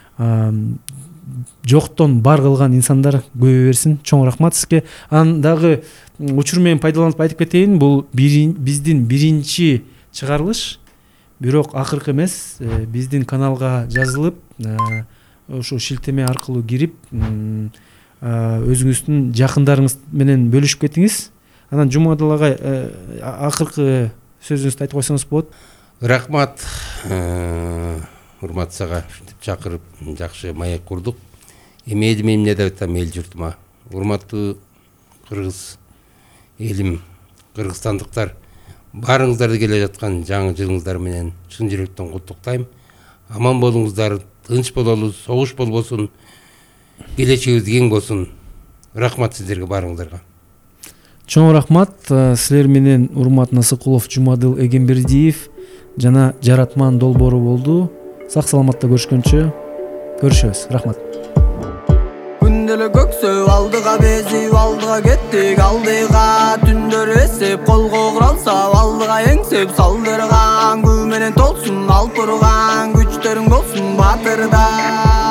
жоктон бар кылган инсандар көбөйө берсин. Чоң рахмат сизге. Анан дагы учур менен пайдаланып айтып кетейин, бул биздин биринчи чыгарылыш, бирок акыркы эмес. Биздин каналга жазылып, ошо шилтеме аркылуу кирип, өзүңүздүн жакындарыңыз менен бөлүшүп кетиңиз. Анан Жумадыл агай, акыркы сөзүңүздү айтып койсоңуз болот. Рахмат. Урмат сага чакырып, жакшы маек курдук. Эми эли менен деп атам эл журтума. Урматтуу кыргыз элим, кыргызстандыктар, баарыңыздарды келе жаткан жаңы жылыңыздар менен чын жүрөктөн куттуктайм. Аман болуңуздар, тынч бололу, согуш болбосун, келечегибиз кең болсун. Рахмат сиздерге баарыңыздарга. Чоң рахмат. Силер менен Урмат Насыкулов, Жумадыл Эгембердиев жана Жаратман долбоору болду. Сак саламатта көрүшкөнчө көрүшөбүз. Рахмат. Күндөлө көксөп алдыга безип алдыга кеттик алдыга, түндөр эсеп колго куралса алдыга эңсеп салдырган, күн менен толсун алып турган күчтөрүң болсун батырда.